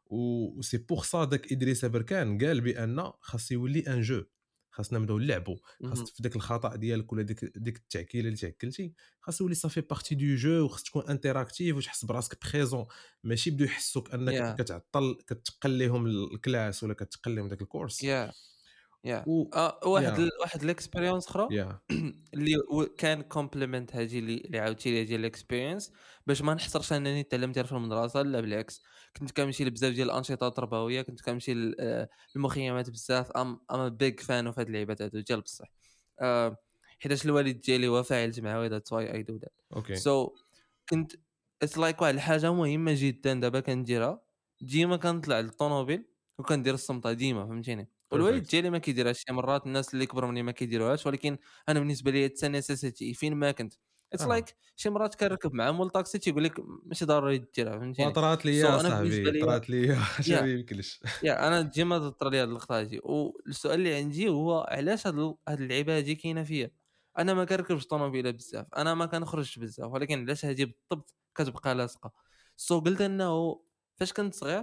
و سي بوغ سا داك ادريس بركان قال بان خاص يولي ان جو، خاصنا نبداو نلعبوا، خاص مهم. في داك الخطا ديالك ولا ديك ديك التعكيله اللي تعكلتي خاص يولي صافي بارتي دو جو، وخاص تكون انتراكتيف وتحس براسك بريزون، ماشي بدو يحسوك انك يا كتعطل كتقل لهم الكلاس ولا كتقل لهم داك الكورس. يا يا و آه واحد يا ال... واحد الاكسبيريونس اخرى يا اللي و- كان كومبليمنت هذه اللي اللي عاودتي لي ديال الاكسبيرينس باش ما نحصرش انني تعلمت في المدرسه. لا بالعكس كنت كنمشي لبزاف ديال الانشطه التربويه. كنت كنمشي ل- آه، للمخيمات بزاف. ام ام بيج فان اوف هاد اللعيبات هادو ديال بصح آه، حيتاش الوالد ديالي هو فاعل جمعوي ذاتس واي اي دو ذات. اوكي سو كنت اتس لايك واحد الحاجه مهمه جدا دابا كنديرها. ديما كنطلع للطوموبيل وكندير الصمته ديما فهمتيني. والوالد بيرفكت ديالي ما كيديرهاش شي مرات الناس اللي كبروا مني ما كيديروهاش. ولكن انا بالنسبه لي حتى نيسيسيتي فين ما كنت. اتس اه لايك شي مرات كنركب مع مول طاكسي تيقول لك ماشي ضروري ديرها فهمتيني. وطرات لي سو يا so انا بالنسبه صاحبي لي طرات لي حاجه يا ما يمكنش. يا انا ديما طرا لي هاد اللقطه هادي. والسؤال اللي عندي هو علاش هاد ال- هاد اللعيبه هادي كاينه فيا. انا ما كنركبش طوموبيله بزاف انا ما كنخرجش بزاف ولكن علاش هادي بالضبط كتبقى لاصقه. سو قلت انه فاش كنت صغير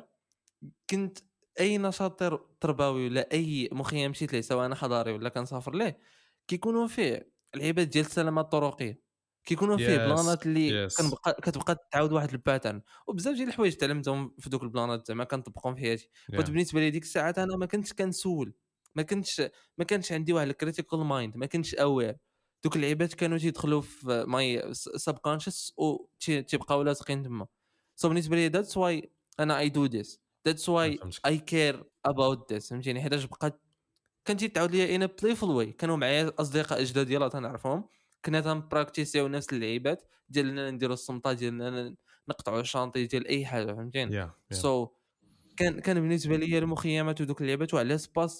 كنت اي نشاط تر- تربوي ولا اي مخيم مشيت ليه سواء انا حضاري ولا كنسافر ليه كيكونوا فيه العباد ديال السلامه الطرقيه. كيكونوا فيه يس بلانات اللي يس كنبقى كتبقى تعاود واحد الباترن. وبزاف ديال الحوايج تعلمتهم في دوك البلانات زعما كنطبقهم في حياتي. بغيت يا بالنسبه لي ديك الساعات انا ما كنتش كنسول. ما كنتش ما كانش عندي واحد الكريتيكال مايند. ما كنتش اوير. دوك اللعيبات كانوا تيدخلوا في ماي سبكونشس و تي- تيبقاو لاصقين تما. سو بالنسبه لي ذاتس واي انا اي دو ذس. ذاتس واي فهمتك اي كير اباوت ذس فهمتيني. حيتاش بقات كانت تعاود ليا ان بلايفول واي. كانوا معايا اصدقاء جداد يلاه تنعرفهم. كنا تنبراكتيسيو نفس اللعيبات ديالنا نديرو الصمطه ديالنا نقطعوا الشانطي ديال اي حاجه فهمتيني. يا يا سو so, كان كان بالنسبه لي المخيمات ودوك اللعيبات وعلى سباس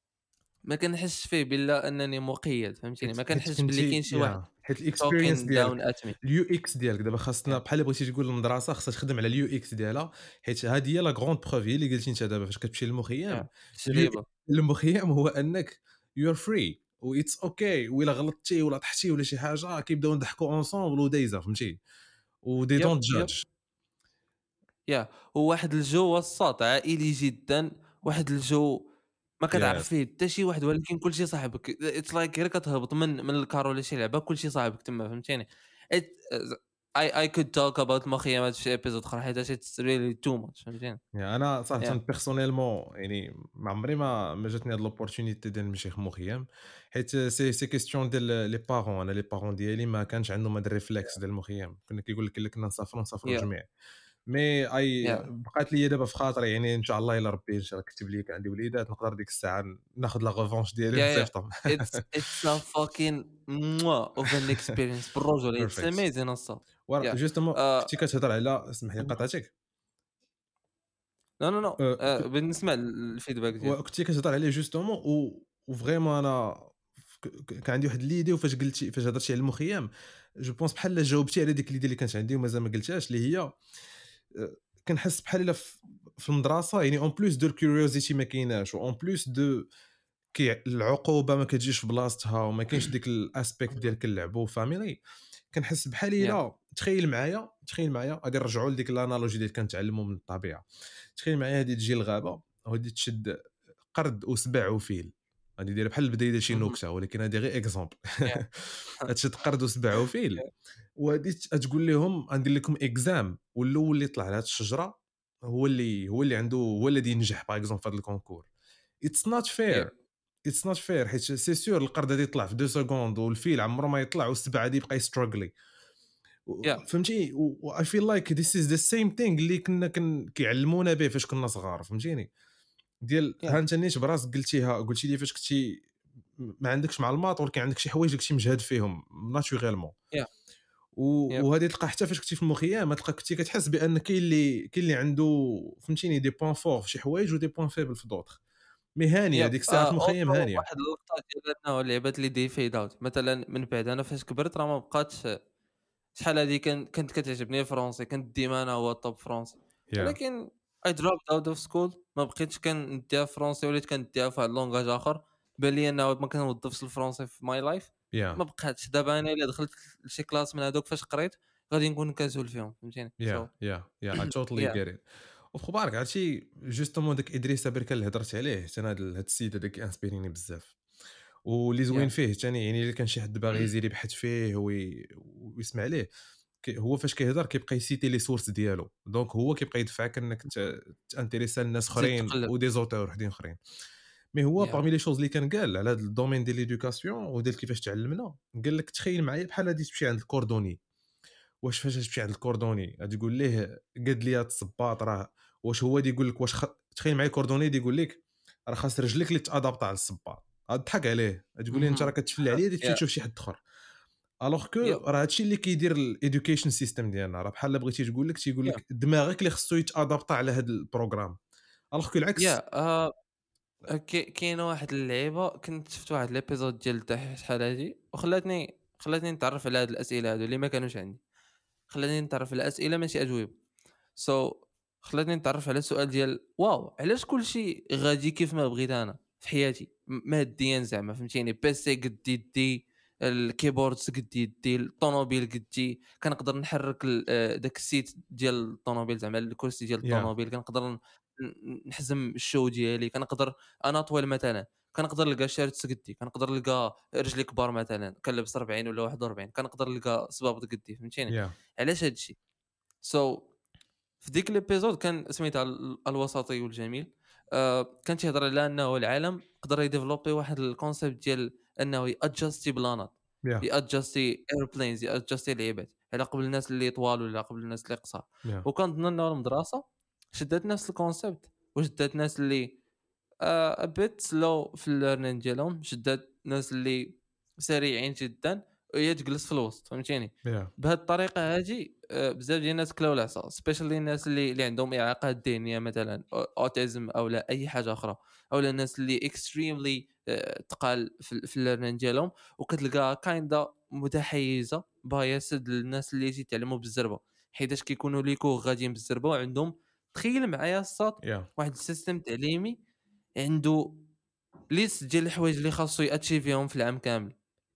ما كنحسش فيه بلا انني مقيد فهمتيني. حيت ما حيت كنحسش باللي كنتي كاين شي واحد يا حيت الاكسبيرينس talking ديالك down at me. اليو اكس ديالك دابا خاصنا yeah. بحال بغيتي تقول المدرسه خاصها تخدم على اليو اكس ديالها، حيت هذه هي لا غروند بروف هي اللي قلتي انت دابا فاش كتمشي yeah. للمخيم. اليو تجربه. المخيم هو انك يو ار فري و اتس اوكي، وإلا غلطتي ولا طحتي ولا شي حاجه كيبداو نضحكوا اونصومبل ودايزه فهمتي، و they يب don't يب judge. ياه هو واحد الجو وسط عائلي جدا. واحد الجو ما كتعرف Yes. فيه حتى شي واحد ولكن كلشي صاحبك. اتس لايك غير كتهبط من من الكار ولا شي لعبه كلشي صاحبك تما فهمتيني. It- I I could talk about المخيمات في شي episode اخرى حيت it's really too much فهمتيني. يعني انا صراحه yeah بيرسونيلمون يعني ما عمري ما ما جاتني هاد لوبورتونيتي ديال نمشي مخيم، حيت سي سي كيستيون ديال لي بارون. انا لي بارون ديالي ما كانش عندهم هاد الريفلكس ديال المخيم، كنا كيقول لك الا كنا نسافروا نسافروا yeah الجميع. مي اي yeah بقات لي دابا في خاطري، يعني ان شاء الله الا ربي ان شاء الله كتب لي كان عندي وليدات نقدر ديك الساعه ناخذ لا ريفونش ديالي yeah yeah ونصيفطهم. it's it's a fucking mwah of an experience بالرجل it's بيرفكت. amazing الصاد. ورا yeah جوستومون uh, كنتي كتهضر على، اسمح لي قاطعتك. no no no أه، uh, بنسمع الفيدباك ديالك. وكنتي كتهضر عليه جوستومون و وفريمون انا ك- ك- كان عندي واحد ليدي، وفاش قلتي فاش هضرتي على المخيم جو بونس بحال جاوبتي على ديك ليدي اللي كانت عندي ومازال ما قلتهاش، اللي هي أه، كنحس بحال الا في في المدرسه، يعني اون بلوس دو الكيوريوزيتي ما كايناش، و اون بلوس دو كي العقوبه ما كتجيش في بلاصتها، وما كاينش ديك الاسبيكت ديال كنلعبوا فاميلي. كنحس بحال yeah الا تخيل معايا تخيل معايا غادي نرجعوا لديك الانالوجي اللي كنتعلموا من الطبيعه. تخيل معايا هادي تجي الغابه وغادي تشد قرد وسبع وفيل، غادي دير بحال البدايه ديال شي mhm نكته، ولكن هذه غير اكزومبل. yeah غتشد قرد وسبع وفيل yeah وغادي ت- تقول لهم غندير لكم اكزام، والاول اللي يطلع على هذه الشجره هو اللي هو اللي عنده هو الذي ينجح باغ اكزومبل في هذا الكونكور. اتس نوت yeah فير. اتس نوت فير حيت سي سور القرد غادي يطلع في دو سكوند، والفيل عمره ما يطلع، والسبع غادي يبقى يستراغلي. yeah فهمتي؟ و اي فيل لايك ذيس از ذا سيم ثينغ اللي كنا كن كيعلمونا به فاش كنا صغار، فهمتيني؟ ديال ها yeah انت نيت براسك قلتيها، قلتي لي فاش كنتي ما عندكش معلومات، ولكن عندك شي حوايج كنتي مجهد فيهم ناتوريلمون. yeah yep وهذه تلقى حتى فاش كنتي في المخيم تلقى كنتي كتحس بان كاين اللي كاين اللي عنده فهمتيني دي بوين فور في شي حوايج ودي بوين فيبل في دوطخ. مي هانيه يب ديك الساعه في آه، المخيم اوتو هانيه. واحد اللقطة ديال انه اللعبات اللي دي فيد اوت مثلا من بعد انا فاش كبرت راه ما بقاتش شحال هادي كان كانت كتعجبني الفرونسي كنت ديما انا هو الطوب فرونسي يا ولكن اي dropped اوت اوف سكول ما بقيتش كنديها في فرونسي وليت كنديها في واحد اللونغاج اخر بان لي انه ما كنوظفش الفرونسي في ماي لايف يا ما بقاتش دابا انا الا دخلت لشي كلاس من هذوك فاش قريت غادي نكون كنسول فيهم فهمتيني سو يا يا يا اي توتالي يا جيت ات. وخو بالك عرفتي جوستومون داك ادريس بركه اللي هضرت عليه، حتى انا هاد هاد السيد هذاك انسبيريني بزاف. واللي زوين يا فيه ثاني، يعني الا كان شي حد باغي يزيد يبحث فيه وي... ويسمع ليه، كي هو فاش كيهضر كيبقى يسيتي لي سورس ديالو، دونك هو كيبقى يدفعك انك ت- تانتيريسا لناس تزيد اخرين تقلب ودي زوتور وحدين اخرين. مي هو يا باغمي لي شوز اللي كان قال على هذا الدومين ديال ليدوكاسيون وديال كيفاش تعلمنا، قال لك تخيل معايا بحال غادي تمشي عند الكوردوني. واش فاش تمشي عند الكوردوني غادي تقول ليه قاد لي هاد الصباط راه، واش هو اللي يقول لك واش خ... تخيل معايا كوردوني اللي يقول لك راه خاص رجليك اللي تادابط على الصباط، غتضحك عليه تقول لي انت راه مهم. كتفلي عليا غادي تمشي يا تشوف شي حد اخر. الوغ كو يب راه هادشي اللي كيدير الايدوكيشن سيستم ديالنا، راه بحال بغيتي تقول لك تيقول يا لك دماغك اللي خصو يتادابط على هذا البروغرام، الوغ كو العكس. يا آه، كي كاينه واحد اللعيبه كنت شفت واحد ليبيزود ديال الدحيح شحال هادي وخلاتني خلاتني نتعرف على هاد الاسئله هادو اللي ما كانوش عندي خلاتني نتعرف على اسئله ماشي اجوبه سو so, خلاتني نتعرف على السؤال ديال واو علاش كلشي غادي كيف ما بغيت انا في حياتي م- ماديا زعما فهمتيني بيسي قد يدي الكيبورد قد يدي الطوموبيل قدي كنقدر نحرك ال- آه، داك السيت ديال الطوموبيل زعما الكرسي ديال يا الطوموبيل كنقدر ن- ن- نحزم الشو ديالي كنقدر انا طويل مثلا كنقدر نلقى شارت قدي كنقدر نلقى رجلي كبار مثلا كنلبس أربعين ولا واحد وأربعين كنقدر نلقى صبابط قدي فهمتيني يا علاش هادشي سو so, في ديك الابيزود كان سميتها ال- الوسطي والجميل آه كان تيهضر على انه العالم قدر يديفلوبي واحد الكونسيبت ديال انه يادجستي بلانات يا يادجستي ايربلينز يادجستي لعيبات على قبل الناس اللي طوال ولا قبل الناس اللي قصار يا وكنظن انه المدرسه شدات نفس الكونسيبت وشدات ناس اللي آه a bit slow في الليرنين ديالهم شدات ناس اللي سريعين جدا وهي تجلس في الوسط فهمتيني يا بهذه الطريقه هذه آه، بزاف ديال الناس كلاو العصا سبيشالي الناس اللي اللي عندهم اعاقات ذهنيه مثلا اوتيزم او لا اي حاجه اخرى او لا الناس اللي اكستريملي تقال في, في الليرنين ديالهم وكتلقى كايندا متحيزه بايسد للناس اللي تيتعلموا بالزربه حيتاش كيكونوا ليكو غاديين بالزربه وعندهم تخيل معايا الساط يا واحد السيستم تعليمي عنده ليست ديال الحوايج اللي خاصو ياتشيفيهم في العام كامل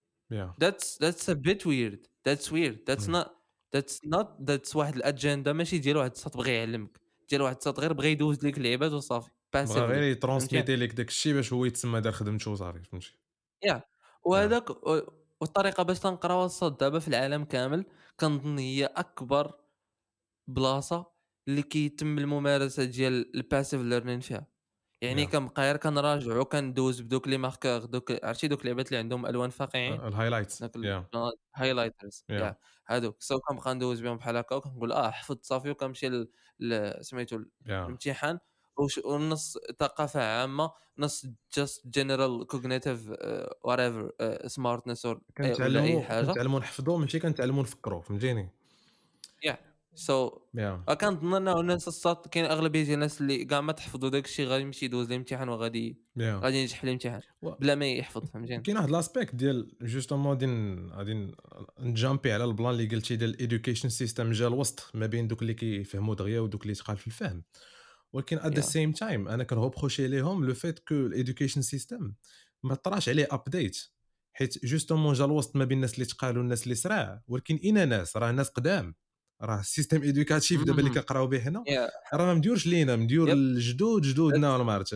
يا that's that's a bit weird that's weird that's مم. not that's not that's واحد الاجنده ماشي ديال واحد الساط بغى يعلمك ديال واحد الساط غير بغى يدوز لك اللعيبات وصافي بغا غير باسيفلي فهمتي يترونسميتي ليك داك الشيء باش هو يتسمى دار خدمته وصافي فهمتي. يا يا وهذاك والطريقه باش تنقراو الصوت دابا في العالم كامل كنظن هي اكبر بلاصه اللي كيتم الممارسه ديال الباسيف ليرنين فيها. يعني يا كنبقى غير كنراجعو كندوز بدوك لي ماركور دوك عرفتي دوك اللعبات اللي عندهم الوان فاقعين الهايلايتس داك يا الهايلايترز يا يا هادوك سو كنبقى ندوز بهم بحال هكا وكنقول اه حفظت صافي وكنمشي ل ل- سميتو يا الامتحان وش ونص ثقافه عامه نص just general cognitive uh, whatever uh, smartness or ولا اي كنتعلموا حاجه. كنتعلموا نحفظوا ماشي كنتعلموا نفكروا فهمتيني يا سو يا كنظن انه الناس الساط كاين اغلبيه ديال الناس اللي كاع ما تحفظوا داك الشيء غادي يمشي يدوز الامتحان وغادي يا غادي ينجح في الامتحان بلا ما يحفظ فهمتيني. كاين واحد لاسبيكت ديال جوستومون غادي ن- غادي ن- نجامبي على البلان اللي قلتي ديال الادوكيشن سيستم جا الوسط ما بين دوك اللي كيفهموا دغيا ودوك اللي تقال في الفهم، ولكن ات ذا يا سيم تايم انا كنغوبروشي ليهم لو فيت كو الادوكيشن سيستم ما طراش عليه ابديت، حيت جوستومون جا الوسط ما بين الناس اللي تقالوا الناس اللي سراع، ولكن اين ناس راه ناس قدام، راه السيستم ادوكاتيف دابا اللي مهم. كنقراو به هنا يا راه ما مديورش لينا، مديور يب الجدود جدودنا ولا that's- ما عرفت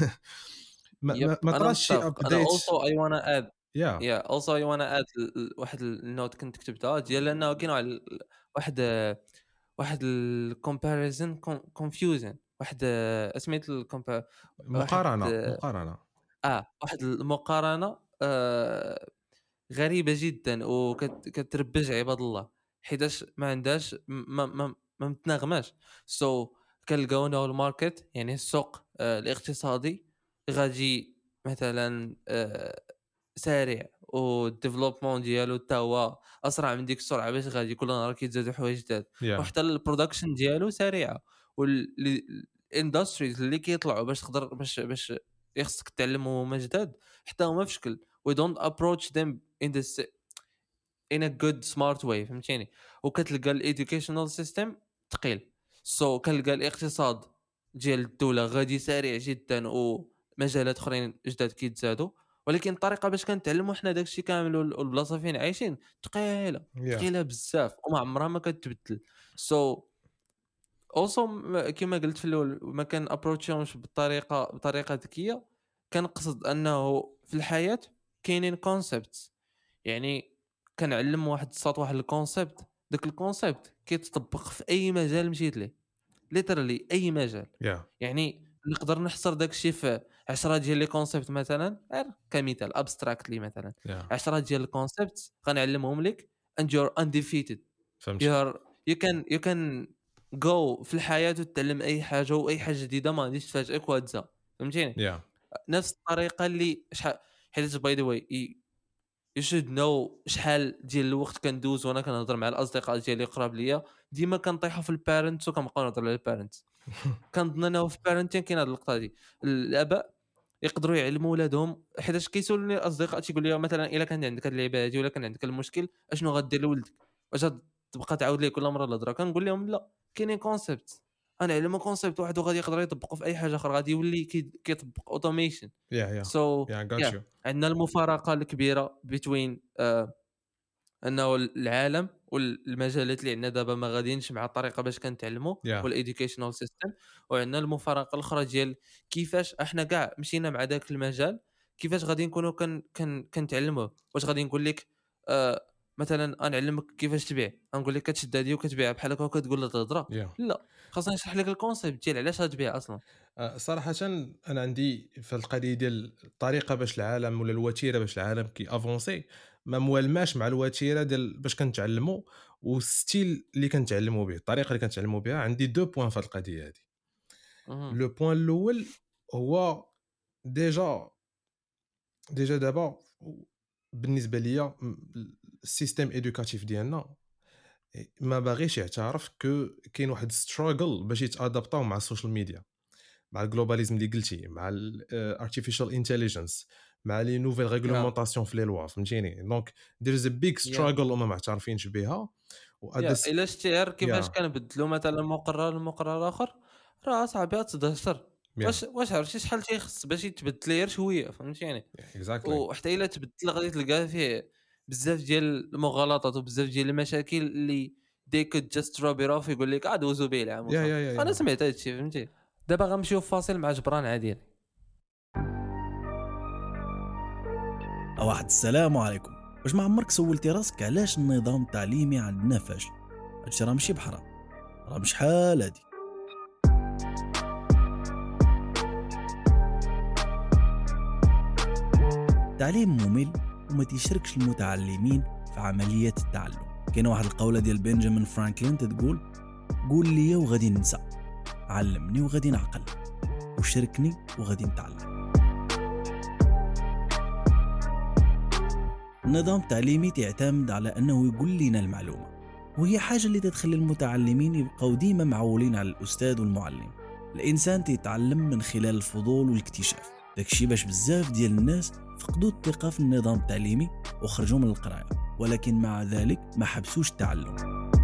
ما, يب ما, ما انا طراش شي متفق. انا ابديت. also I wanna add يا yeah also I wanna add ل- ل- واحد النوت كنت كتبتها ديال انه كاين واحد ال- واحد واحد الكومباريزن كونفيوجن واحد سميت الكومبا واحد مقارنه مقارنه اه واحد المقارنه آه غريبه جدا وكتربج عباد الله حيتاش ما عندهاش ما ما ما متناغماش. سو so, كنلقاو انه الماركت يعني السوق آه الاقتصادي غادي مثلا آه سارع والديفلوبمون ديالو حتى هو اسرع من ديك السرعه باش غادي كل نهار كيتزادوا حوايج جداد يا وحتى البرودكشن ديالو سريعه والاندستريز اللي كيطلعوا باش تقدر باش باش يخصك تعلموا هما جداد حتى هما في شكل we don't approach them in this in a good smart way فهمتيني. وكتلقى الايديوكيشنال سيستم ثقيل سو so, كنلقى الاقتصاد ديال الدوله غادي سريع جدا ومجالات اخرين جداد كيتزادوا ولكن الطريقه باش كنتعلموا حنا داكشي كامل وال- والبلاصه فين عايشين ثقيله يا ثقيله بزاف وما عمرها ما كتبدل. سو so, اوسو كما قلت في الاول ما كان ابروتشهمش بالطريقه بطريقه ذكيه. كنقصد انه في الحياه كاينين كونسبتس يعني كنعلم واحد الساط واحد الكونسيبت داك الكونسيبت كيتطبق في اي مجال مشيت ليه ليترالي اي مجال. يا يعني نقدر نحصر داك الشيء في عشرة ديال لي كونسيبت مثلا غير كمثال ابستراكتلي مثلا يا عشرة ديال الكونسيبت غنعلمهم لك and you're undefeated. you فهمت are you can you can go في الحياة وتتعلم أي حاجة وأي حاجة جديدة ما غاديش تفاجئك وهتزا فهمتيني. يا نفس الطريقة اللي شحال حيت باي ذا واي you should know شحال ديال الوقت كندوز وانا كنهضر مع الاصدقاء ديالي قراب ليا ديما كنطيحوا في البارنتس وكنبقاو نهضروا على البارنتس. كنظن انه في البارنتين كاين هذه اللقطه دي الاباء يقدروا يعلموا ولادهم حيتاش كيسولوني الاصدقاء تيقول لي مثلا الا كان عندك هذه اللعبه هذه ولا كان عندك المشكل اشنو غدير لولدك واش تبقى تعاود ليه كل مره الهضره كنقول لهم لا كاينين كونسيبت انا علمو كونسيبت واحد وغادي يقدر يطبقوا في اي حاجه اخرى غادي يولي كي- كيطبق اوتوميشن. يا يا سو يا got يا you عندنا المفارقه الكبيره بين آه انه العالم والمجالات اللي عندنا دابا ما غاديينش مع الطريقه باش كنتعلموا يا والاديوكيشنال سيستم. وعندنا المفارقه الاخرى ديال كيفاش احنا كاع مشينا مع ذاك المجال كيفاش غادي نكونوا كن كن كنتعلموه. واش غادي نقول لك آه مثلا نعلمك كيفاش تبيع غنقول لك كتشد هذه وكتبيعها بحال هكا وكتقول لها تهضره يا لا خاصني نشرح لك الكونسيبت ديال علاش غتبيع اصلا. أه، صراحة أنا عندي في القضية ديال الطريقة باش العالم ولا الوتيرة باش العالم كي افونسي ما موالماش مع الوتيرة ديال باش كنتعلموا والستيل اللي كنتعلموا به، الطريقة اللي كنتعلموا بها. عندي دو بوين في القضية هذه. مهم. لو بوين الأول هو ديجا ديجا دابا بالنسبة ليا السيستم إدوكاتيف ديالنا ما باغيش يعترف كو كاين واحد ستراغل باش يتادابطاو مع السوشيال ميديا، مع الجلوباليزم اللي قلتي، مع الارتيفيشال انتليجنس، مع لي نوفيل يا ريغلومونطاسيون في لي لوا فهمتيني. دونك دير از ا بيج يا ستراغل وما معترفينش بها يا وادس. الا شتي غير كيفاش يا كنبدلوا مثلا مقرر لمقرر اخر راه صاحبي تدهشر. يا واش واش عرفتي شحال تيخص باش يتبدل غير شويه فهمتيني. اكزاكتلي وحتى الا تبدل غادي تلقى فيه بزاف ديال المغالطات وبزاف ديال المشاكل اللي they could just drop it off يقول لك ادوزو به العام يا وصافي. يا يا انا يا سمعت هذا الشيء فهمتي. دابا غنمشيو في فاصل مع جبران عادل. واحد السلام عليكم. واش ما عمرك سولتي راسك علاش النظام التعليمي عندنا فاشل؟ هادشي راه ماشي بحرام، راه مش حال هادي. التعليم ممل وما تيشاركش المتعلمين في عملية التعلم. كاين واحد القولة ديال بنجامين فرانكلين تتقول: قول لي وغادي ننسى، علمني وغادي نعقل، وشاركني وغادي نتعلم. النظام التعليمي تعتمد على أنه يقول لنا المعلومة، وهي حاجة اللي تتخلي المتعلمين يبقوا ديما معولين على الأستاذ والمعلم. الإنسان تيتعلم من خلال الفضول والاكتشاف. داكشي باش بزاف ديال الناس فقدوا الثقة في النظام التعليمي وخرجوا من القراية، ولكن مع ذلك ما حبسوش التعلم.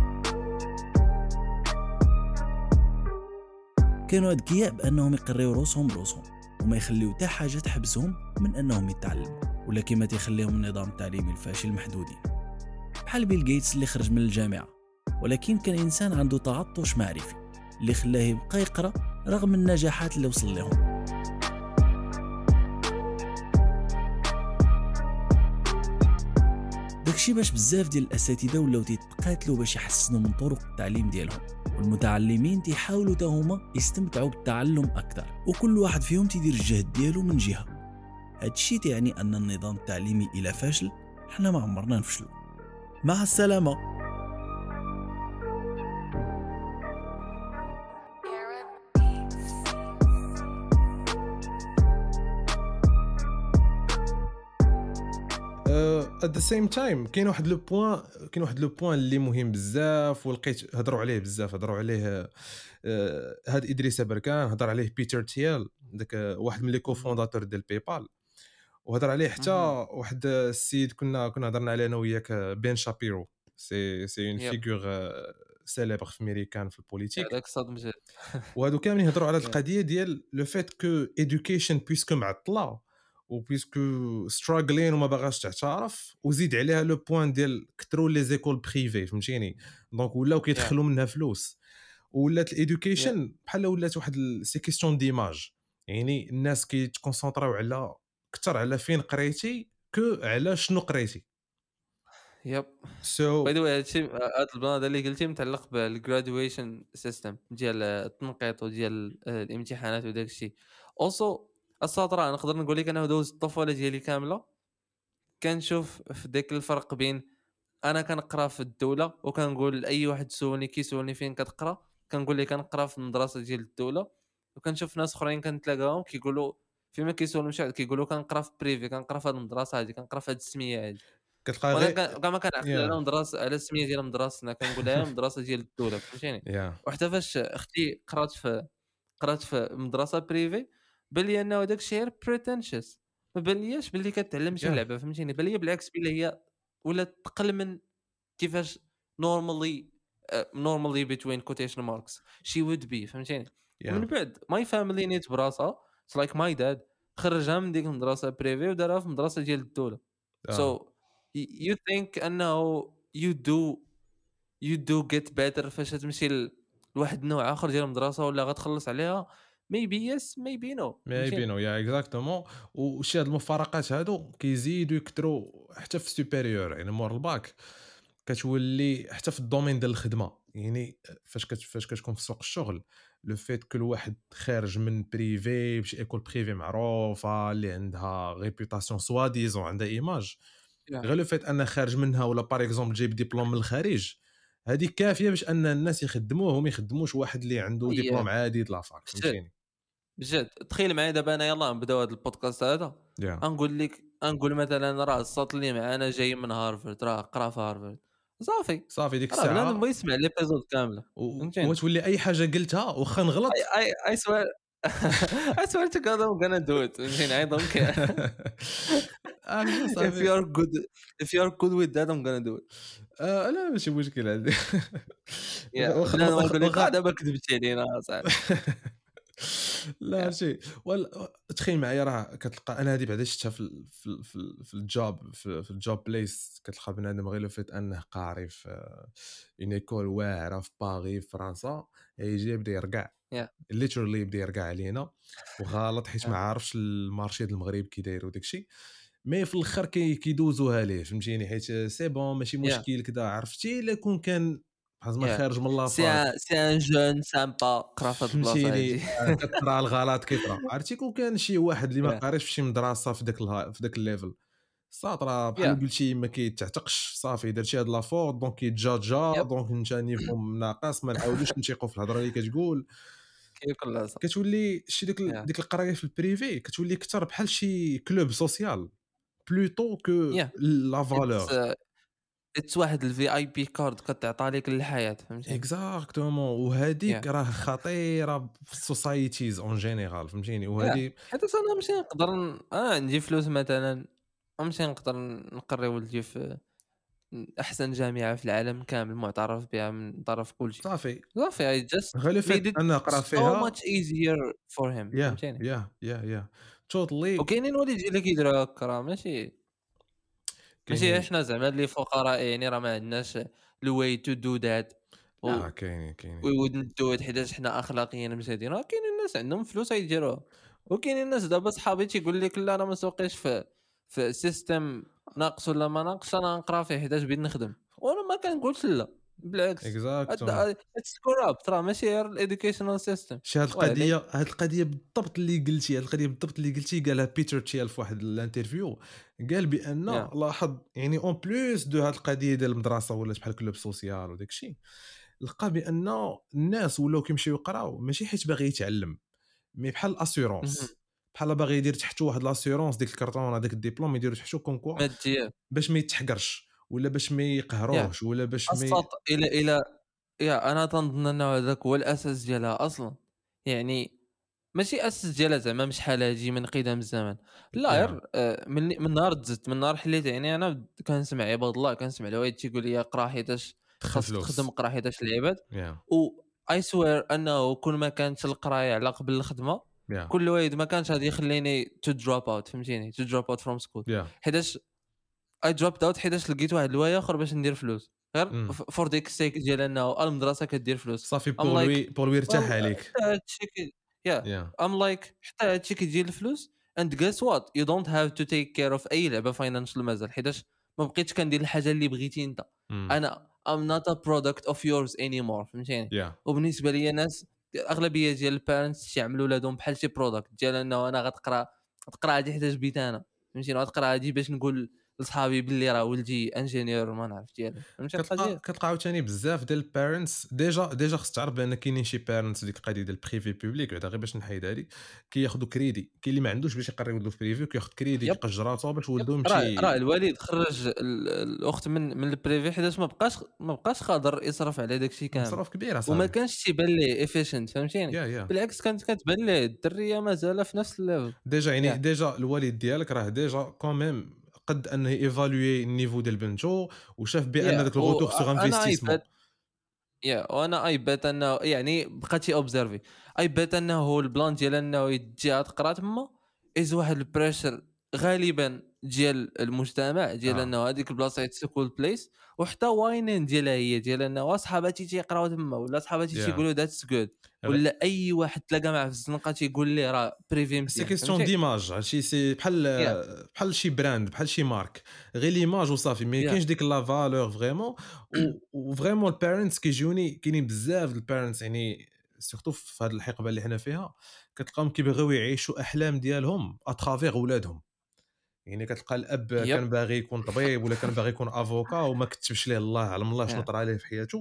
كانوا أذكياء بأنهم يقريو روسهم بروسهم وما يخليو حتى حاجة تحبسهم من أنهم يتعلموا، ولكن ما تيخليهم النظام التعليمي الفاشل محدودين. بحال بيل غيتس اللي خرج من الجامعة ولكن كان إنسان عنده تعطش معرفي اللي خلاه يبقى يقرأ رغم النجاحات اللي وصل لهم. داكشي باش بزاف ديال الاساتذه ولاو تيتقاتلوا باش يحسنوا من طرق التعليم ديالهم، والمتعلمين تيحاولوا حتى هما يستمتعوا بالتعلم اكثر، وكل واحد فيهم تيدير الجهد ديالو من جهه. هادشي تعني ان النظام التعليمي الى فاشل حنا ما عمرنا نفشلوا. مع السلامه. at the same time كاين واحد لو بوين كاين واحد لو بوين اللي مهم بزاف ولقيت هضروا عليه بزاف هضروا عليه آه هاد ادريس بركان، هضر عليه بيتر تيال داك واحد من لي كوفونداتور ديال بايبال، وهضر عليه حتى واحد السيد كنا كنا هضرنا عليه انا وياك بين شابيرو. سي سي اون فيغور سيليبر في امريكان في البوليتيك. هذاك صدم جد. وهادو كاملين يهضروا على هاد القضيه ديال لو فيت كو ايدوكيشن بويسكو معطله وبيسكو ستراغلين وما باغاش تعترف، وزيد عليها لو بوين ديال كثروا لي زيكول بريفي فهمتيني، دونك ولاو كيدخلوا منها فلوس، ولات الايدوكيشن بحال ولات واحد سي كيستيون ديماج، يعني الناس كيتكونسونطراو على كثر على فين قريتي كو على شنو قريتي. يب سو باي ذا واي هادشي هاد البلان اللي قلتي متعلق بالجرادويشن سيستم ديال التنقيط وديال الامتحانات وداك الشيء. اوسو السطر نقدر نقول لك انا دوز الطفوله ديالي كامله كنشوف في داك الفرق بين انا كنقرا في الدوله وكنقول لاي واحد سولني كيسولني فين كتقرا كنقول ليه كنقرا في المدرسه ديال الدوله، وكنشوف ناس اخرين كنتلاقاهم كيقولوا فيما كيسولوا مشى كيقولوا كنقرا في بريفي كنقرا في هذه المدرسه هذه كنقرا في هذه السميه هذه. كتلقى وانا غير كاع ما كنعقل على يا مدرسه على السميه ديال مدرستنا كنقول لها المدرسه ديال الدوله فهمتيني. يا وحتى فاش اختي قرات في قرات في مدرسه بريفي بان لي انه داك الشيء غير بريتنشس، ما بانلياش باللي كتعلم شي يا لعبه فهمتيني، بان لي بالعكس بان هي ولا تقل من كيفاش normally uh, normally between quotation marks she would be فهمتيني. ومن يا بعد my family نيت براسها it's like my dad خرجها من ديك المدرسه بريفي ودارها في مدرسه ديال الدوله. اه so y- you think انه you do you do get better فاش تمشي ل- لواحد النوع اخر ديال المدرسه ولا غتخلص عليها maybe yes maybe no ما فهمتيني. يبينوا يا اكزاكتومون. وشي هاد المفارقات هادو كيزيدوا يكثروا حتى في سوبيريور، يعني مور الباك كتولي حتى في الدومين ديال الخدمه، يعني فاش كت فاش كتكون في سوق الشغل لو فيت كل واحد خارج من بريفي بشي ايكول بريفي معروفه اللي عندها ريبوتاسيون سوا ديزون عندها ايماج، yeah. غير لو فيت انا خارج منها ولا باغ اكزومبل جايب ديبلوم من الخارج، هذه كافيه باش ان الناس يخدموه وما يخدموش واحد اللي عنده yeah. ديبلوم عادي د لافاك بجد فهمتيني. بجد تخيل معايا دابا انا يلاه نبداو هذا البودكاست هذا yeah. غنقول لك غنقول مثلا راه الساط اللي معانا جاي من هارفرد راه قرا في هارفرد صافي صافي ديك راه بنادم الساعه بغى يسمع ليبيزود كامله فهمتيني. وتولي اي حاجه قلتها واخا I نغلط. I I swear I swear to God I'm gonna do it فهمتيني I don't care عرفتي if صافي. you are good if you are good with that I'm gonna do it. آه لا ماشي مشكل عندي. يا واخا بنادم واخا غنقول لك اه واخا دابا كذبتي علينا صاحبي. لا شي ولا تخيل معايا راه كتلقى انا هذه بعدا شفتها في ال- في ال- في ال- في الجوب في, في الجوب بليس، كتلقى بنادم غير لو فيت انه قاري في اون ايكول واعره في باغي في فرنسا يجي يبدا يرقع يا ليترالي يبدا يرقع علينا وغلط حيت ما يا عارفش المارشي ديال المغرب كي داير وداك الشيء. مي في الاخر كي كيدوزوها ليه فهمتيني حيت سي بون ماشي يا مشكل كذا عرفتي الا كون كان بحال ما يا خارج من سي لافاك ان سي ان جون سامبا قرا في هاد البلاصه فهمتيني هادي. آه، كطرا الغلط كيطرا عرفتي كون كان شي واحد اللي ما يا قاريش في شي مدرسه في داك الها... في داك الليفل ساطرا بحال يا قلتي ما كيتعتقش صافي درتي هاد لافور دونك كيتجاجا يب دونك انت نيفو ناقص ما نعاودوش نثيقوا في الهضره اللي كتقول كيكون العصا. كتولي شي ديك ال- يا ديك القرايه في البريفي كتولي اكثر بحال شي كلوب سوسيال بلوتو كو يا لا اتس فالور اتس واحد الفي اي بي كارد كتعطى لك للحياه فهمتيني. اكزاكتومون وهذيك يا راه خطيره في السوسايتيز اون جينيرال فهمتيني يا وهذه حيت انا نمشي نقدر ن- انا عندي فلوس مثلا نمشي نقدر نقري ولدي في احسن جامعه في العالم كامل معترف بها من طرف كل شيء صافي صافي. I just غير لو made فات it انا نقرا so فيها much easier for him يا فهمتيني. يا يا يا توتالي وكاينين والدين اللي كيديروا هكا راه ماشي ماشي كاينين احنا زعما اللي فقراء يعني راه ما عندناش الواي تو دو ذات و لا كاينين كاينين we wouldn't do it حيت حنا اخلاقيا مزيدين. راه كاينين الناس عندهم فلوس يديروها وكاينين الناس دابا صحابي تيقول لك لا انا ما سوقيش في في سيستم ناقص ولا ما ناقص انا نقرا فيه حيت بغيت نخدم وانا ما كنقولش لا بالعكس. اكزاكتومون اتس كورابت راه ماشي غير الاديوكيشنال سيستم شي هاد ويلي. القضيه هاد القضيه بالضبط اللي قلتي هاد القضيه بالضبط اللي قلتي قالها بيتر تشيل في واحد الانترفيو قال بان يا لاحظ يعني اون بلوس دو هاد القضيه ديال المدرسه ولات بحال كلوب سوسيال وداك الشيء لقى بان الناس ولاو كيمشيو يقراو ماشي حيت باغي يتعلم مي بحال مهم. الاسيورونس بحال باغي يدير تحتو واحد الاسيورونس ديك الكرتون هذاك الدبلوم يديرو تحتو كون كوا ماديا باش ما يتحقرش ولا باش ما يا يقهروش ولا باش ما ي... السط الى الى يا انا تنظن انه هذاك هو الاساس ديالها اصلا. يعني ماشي اساس ديالها زعما مش شحال هادي من قدم الزمن لا يا غير آه، من من نهار تزدت من نهار حليت يعني انا كنسمع عباد الله كنسمع الوالد تيقول لي قرا حيتاش دخل خاصك تخدم فلوس قرا حيتاش العباد. يا و اي سوير انه كل ما كانت القرايه على قبل الخدمه يا كل واحد ما كانش غادي يخليني تو دروب اوت فهمتيني تو دروب اوت فروم سكول يا حيتاش اي دروبت اوت حيتاش لقيت واحد الوايا اخر باش ندير فلوس غير امم فور ديك سيك ديال انه المدرسه كدير فلوس. صافي ام بور لوي لايك بور لوي يرتاح ويل عليك حتى هادشي كي يا يا ام لايك حتى هادشي كيجي الفلوس and guess what you don't have to take care of اي لعبه فاينانشال مازال حيتاش ما بقيتش كندير الحاجه اللي بغيتي انت. امم انا I'm not a product of yours anymore فهمتيني. يا وبالنسبه لي ناس الاغلبيه ديال البارنتس تيعملوا ولادهم بحال شي برودكت ديال انه انا غتقرا غتقرا هادي حيتاش بيت انا فهمتيني غتقرا هادي باش نقول لصحابي باللي راه ولدي انجينيور ما نعرف ديالي فهمتي كتلقى القضيه. كتلقى عاوتاني بزاف ديال البيرنتس ديجا ديجا خص تعرف بان كاينين شي بيرنتس ديك القضيه ديال البريفي بوبليك بعدا غير باش نحيد هذه كياخذوا كريدي كاين اللي ما عندوش باش يقري ولده في بريفي كياخذ كريدي يب كيقج راسو باش يب ولده راه راه يمشي الوالد خرج ال- الاخت من من البريفي حيتاش ما بقاش ما بقاش قادر يصرف على داكشي كامل مصروف كبير وما اصاحبي كانش تيبان ليه افيشنت فهمتيني. يا يا بالعكس كانت كتبان ليه الدريه مازال في نفس الليفل. ديجا يعني يا ديجا الوالد ديالك راه ديجا كوميم قد انه ايفالوي النيفو ديال بنتو وشاف بان يا داك الغوتور سوغ وانا انفستيسمون ايباد يا وانا اي بيت انه يعني بقيتي اوبزيرفي اي بيت انه هو البلان ديال انه يجي تقرا تما از واحد البريشر غالبا ديال المجتمع ديال اه انه هذيك البلاصه تسكول بليس وحتى واينين ديالها هي ديال انه صحاباتي تيقراو تما ولا صحاباتي يا تيقولوا ذاتس جود ولا اي واحد تلاقى معاه في الزنقه تيقول ليه راه بريفي سي مزيان كيستيون فهمتي. ديماج هادشي سي بحال يا بحال شي براند بحال شي مارك غير ليماج وصافي ما يا كاينش ديك لا فالور فريمون وفريمون البيرنتس كيجوني كاينين بزاف البيرنتس يعني سورتو في هذه الحقبه اللي حنا فيها كتلقاهم كيبغيو يعيشوا احلام ديالهم اترافيغ ولادهم يعني كتلقى الاب يب كان باغي يكون طبيب ولا كان باغي يكون افوكا وما كتبش ليه الله علم الله شنو يا طرا ليه في حياته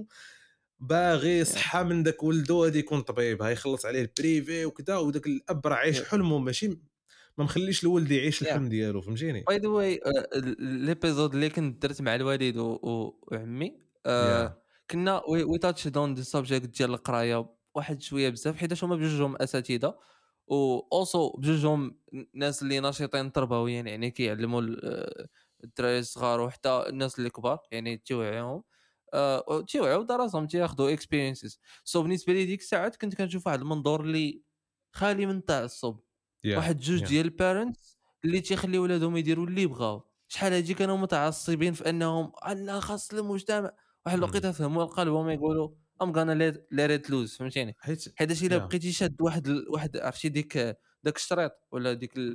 باغي يا صحه من داك ولدو غادي يكون طبيب هيخلص عليه البريفي وكذا وداك الاب راه عايش يب حلمه ماشي ما مخليش الولد يعيش يا الحلم ديالو فهمتيني باي ذا واي ليبيزود اللي كنت درت مع الوالد و- و- وعمي يا آه، كنا وي تاتش دون ذا سبجيكت ديال القرايه واحد شويه بزاف حيت هما بجوجهم اساتذه و اوسو بجوجهم ناس اللي ناشطين تربويا يعني كيعلموا ال- آه، الدراري الصغار وحتى الناس اللي كبار يعني تيوعيهم آه، تيوعيو دراسهم تياخذوا اكسبيرينسز سو بالنسبه لي ديك الساعات كنت كنشوف واحد المنظور اللي خالي من التعصب يا واحد جوج يا ديال البارنتس اللي تيخليو ولادهم يديروا اللي بغاو شحال هادي كانوا متعصبين في انهم لا خاص المجتمع واحد مم. الوقيته فهموا القلب وما يقولوا ام غانا ليت لوز فهمتيني. حيت حيت الا يا بقيتي شاد واحد ال- واحد عرفتي ديك داك الشريط ولا ديك ال-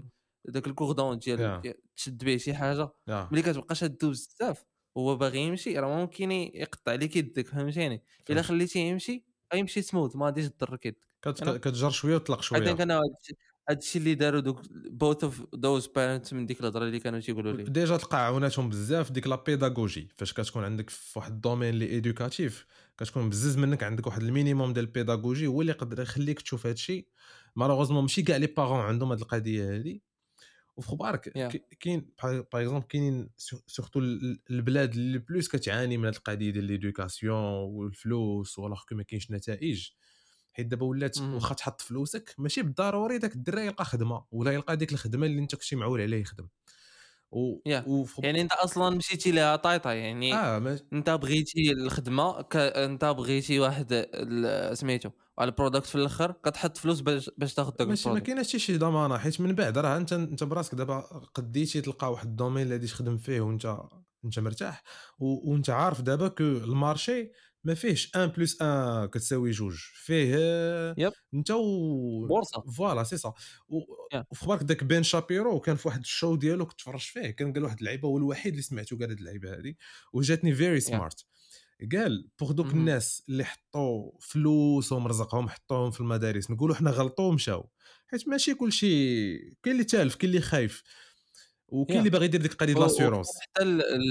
داك الكوردون ديال yeah. تشد به شي حاجه yeah. ملي كتبقى شادو بزاف هو باغي يمشي راه ممكن يقطع لك يدك فهمتيني الا خليتيه يمشي غيمشي سموث ما غاديش تضرك يدك كتجر شويه وتطلق شويه. حيت انا هادشي اللي داروا دوك بوث اوف دوز بارنتس من ديك الهضره اللي كانوا تيقولوا لي ديجا تلقى عاوناتهم بزاف ديك لا بيداغوجي فاش كتكون عندك في واحد الدومين اللي ايدوكاتيف كتكون بزز منك عندك واحد المينيموم ديال البيداغوجي هو اللي يقدر يخليك تشوف هادشي. مالوغوزمون ماشي كاع لي بارون عندهم هاد القضيه هادي وفي خبارك Yeah. كاين باغ اكزومبل كاينين سورتو البلاد اللي بلوس كتعاني من هاد القضيه ديال ليدوكاسيون والفلوس ولا ما كاينش نتائج. حيت دابا ولات واخا تحط فلوسك ماشي بالضروري داك الدراري يلقى خدمه ولا يلقى ديك الخدمه اللي انت كنتي معول عليه يخدم و... yeah. وفخب... يعني انت اصلا مشيتي لها طايطه يعني اه ما... انت بغيتي الخدمه ك... انت بغيتي واحد ال... سميتو على البرودكت في الاخر كتحط فلوس باش باش تاخذ داك ماشي ما البرودكت. كاينش شي ضمانه حيت من بعد راه انت انت براسك دابا قديتي تلقى واحد الدومين اللي غادي تخدم فيه وانت انت مرتاح و... وانت عارف دابا كو المارشي ما فيهش واحد بلس واحد كتساوي جوج فيه يب. انت و بورصه فوالا سي صا و... yeah. وفي بالك داك بين شابيرو كان في واحد الشو ديالو كنت تفرجت فيه كان قال واحد اللعيبه هو الوحيد اللي سمعته قال هاد اللعيبه هذه وجاتني فيري سمارت yeah. قال بوغ دوك mm-hmm. الناس اللي حطوا فلوس ومرزقهم حطوهم في المدارس نقولوا حنا غلطوا ومشاو حيت ماشي كلشي كاين اللي تالف كاين اللي خايف وكاين اللي yeah. باغي يدير ديك القضيه ديال لاسيورونس حتى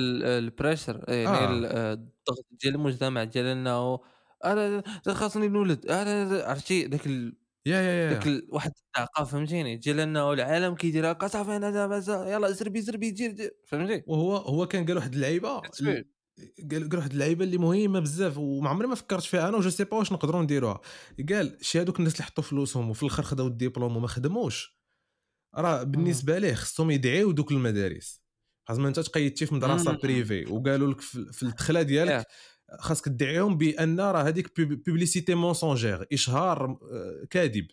البريشر يعني آه. الضغط ديال المجتمع ديالنا انا خاصني نولد انا عرفتي داك ال... يا يا داك ال... واحد الطاقه فهمتيني ديال انه العالم كيدير هكا صافي انا دابا يلا زربي زربي دير فهمتي. وهو هو كان قال واحد اللعيبه قال قال واحد اللعيبه اللي مهمه بزاف وما عمري ما فكرت فيها انا وجو سي با واش نقدروا نديروها. قال شي هذوك الناس اللي حطوا فلوسهم وفي الاخر خداو الدبلوم وما خدموش راه بالنسبه ليه خصهم يدعيو دوك المدارس. خاص ما انت تقيدتي في مدرسه بريفي وقالوا لك في الدخله ديالك خاصك تدعيهم بان راه هذيك بوبليسيتي مونسونجير اشهار كاذب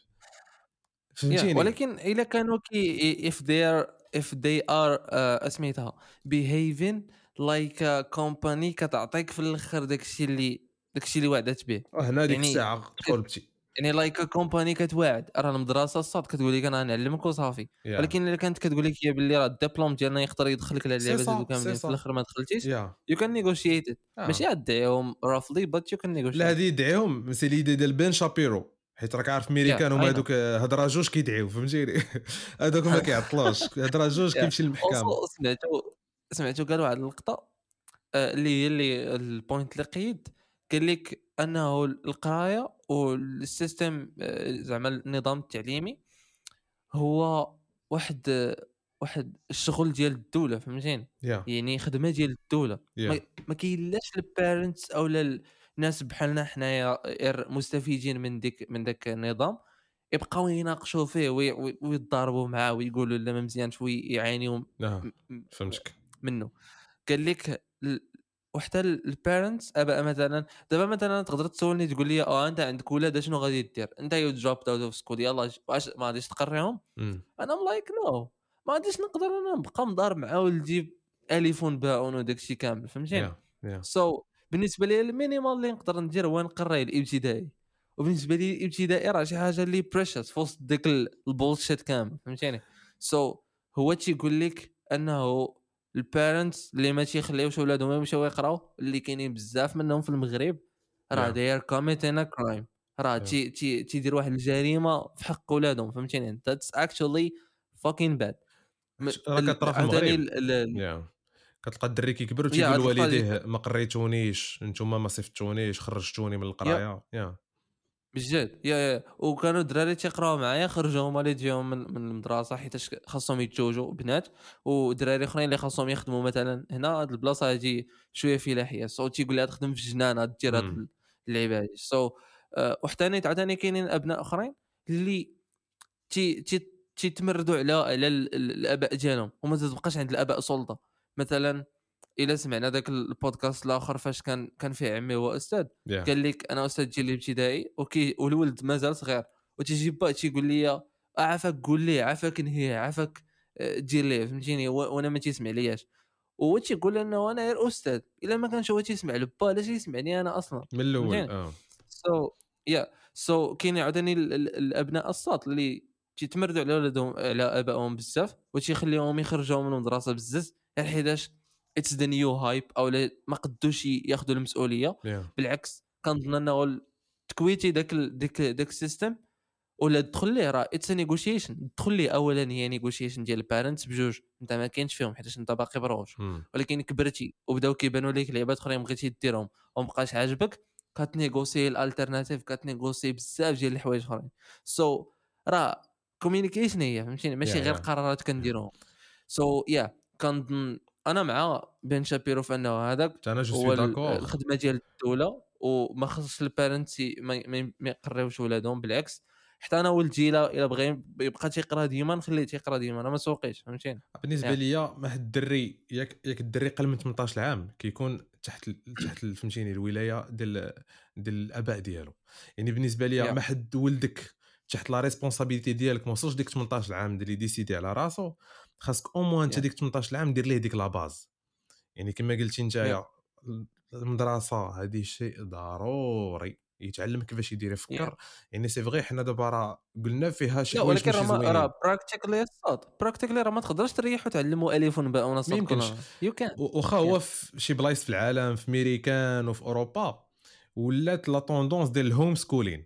فهمتيني. ولكن الا كانوا كي if they are if they are uh, اسميتها behaving like a company كتعطيك في الاخر داكشي اللي داكشي اللي وعدت به هنا ديك يعني الساعه تقولبتي يعني لايك كومباني كتواعد راه المدرسه الصاد كتقول لك انا نعلمك وصافي yeah. ولكن الا كانت كتقول لك هي باللي راه الدبلوم ديالنا يقدر يدخلك على اللعبات هذو كاملين في الاخر ما دخلتيش يو كان نيغوشييت ماشي غدعيهم رافلي بات يو كان نيغوشييت. لا هذه يدعيهم سي ليدي ديال بين شابيرو حيت راك عارف ميريكان هما هذوك هضره جوج كيدعيو فهمتيني هذوك ما كيعطلوش هضره جوج كيمشي للمحكمه. سمعتو سمعتو قال واحد اللقطه اللي هي اللي البوينت اللي قيد قال لك انه القرايه والسيستم زعما النظام التعليمي هو واحد واحد الشغل ديال الدوله فهمتيني yeah. يعني خدمه ديال الدوله yeah. ما, ما كاينلاش البارنتس او الناس بحالنا حنايا مستفيدين من ديك من داك النظام يبقاو يناقشوا فيه ويتضاربوا معاه ويقولوا لا ما مزيانش ويعانيوا فهمتك منه. قال لك وحتى البارنتس ابا مثلا دابا مثلا تقدر تسولني تقول لي اه انت عندك ولاد شنو غادي دير انت يو جوب اوت اوف سكول يلاه واش ما غاديش تقريهم mm. انا ام لايك نو ما غاديش نقدر انا نبقى مضارب مع ولدي اليفون باون وداكشي كامل فهمتيني سو yeah. yeah. so, بالنسبه لي المينيمال اللي نقدر ندير هو نقري الابتدائي وبالنسبه لي الابتدائي راه شي حاجه اللي بريشس في وسط ديك البولشيت كامل فهمتيني سو so, هو تيقول لك انه البارنتس اللي ما تيخليوش ولادهم يمشيو يقراو اللي كاينين بزاف منهم في المغرب راه داير كوميتين كرايم راه تي تي تيدير واحد الجريمه في حق ولادهم فهمتيني ذاتس اكشولي فاكين باد راه كطرا في المغرب كتلقى الدري كيكبر تيقول لوالديه ما قريتونيش نتوما ما صيفطونيش خرجتوني من القرايه يا بجد يا يا وكانوا الدراري تيقراو معايا خرجوهم والديهم من من المدرسه حيت خاصهم يتزوجوا بنات ودراري اخرين اللي خاصهم يخدموا مثلا هنا هاد البلاصه هادي شويه فلاحيه سو تيقول لها تخدم في الجنانه دير هاد اللعيبه هادي سو وحتى انا عاوتاني كاينين ابناء اخرين اللي تي تي تيتمردوا على على الاباء ديالهم وما تبقاش عند الاباء سلطه. مثلا الا سمعنا داك البودكاست الاخر فاش كان كان فيه عمي هو استاذ yeah. قال لك انا استاذ ديال الابتدائي اوكي والولد مازال صغير وتيجي با تيقول لي عافاك قول ليه عافاك نهيه عافاك دير ليه فهمتيني وانا ما تيسمع لياش وهو تيقول انه انا غير استاذ الا ما كانش هو تيسمع لبا علاش يسمعني انا اصلا من الاول اه سو يا سو كاين عاوتاني الابناء الصات اللي تيتمردوا على ولادهم على ابائهم بزاف وتيخليهم يخرجوا من المدرسه بزز حيتاش اتس ذا نيو هايب او ما قدوش ياخذوا المسؤوليه. yeah. بالعكس كنظن انه تكويتي داك داك داك السيستم ولا تدخل ليه راه اتس نيغوشيشن. تدخل ليه اولا هي نيغوشيشن ديال البارنتس بجوج انت ما كاينش فيهم حيت انت باقي بروج hmm. ولكن كبرتي وبداو كيبانوا لك لعبات اخرين بغيتي ديرهم ومبقاش عاجبك كتنيغوسي الالترناتيف كتنيغوسي بزاف ديال الحوايج اخرين. سو so, راه كوميونيكيشن هي فهمتيني ماشي yeah, غير yeah. قرارات كنديروهم. سو so, يا yeah, كنظن انا مع بن شابيرو في انه هذاك انا جو هو سوي داكور الخدمه ديال الدوله وما خصش البارنتس ما, ما يقريوش ولادهم. بالعكس حتى انا ولدي الا الا بغى يبقى تيقرا ديما نخليه تيقرا ديما انا ما سوقيش فهمتيني. بالنسبه yeah. ليا ما حد الدري ياك ياك الدري قل من ثمنطاش عام كيكون تحت تحت فهمتيني الولايه ديال ديال الاباء ديالو. يعني بالنسبه ليا yeah. ما حد ولدك تحت لا ريسبونسابيلتي ديالك ما وصلش ديك ثمنطاش عام اللي ديسيدي على راسو خاصك او موان انت yeah. ديك ثمنطاش عام دير ليه ديك لا باز. يعني كما قلتي نتايا yeah. المدرسه هذه شيء ضروري يتعلم كيفاش يدير يفكر. yeah. يعني سي فغي حنا دابا راه قلنا فيها شي لا حوايج ولكن ماشي راه زوينين راه براكتيكلي صوت براكتيكلي راه ما تقدرش تريح وتعلموا الف وباء ما ونصب يمكنش. كلنا يو كان واخا هو في شي بلايص في العالم في امريكان وفي اوروبا ولات لا طوندونس ديال الهوم سكولين.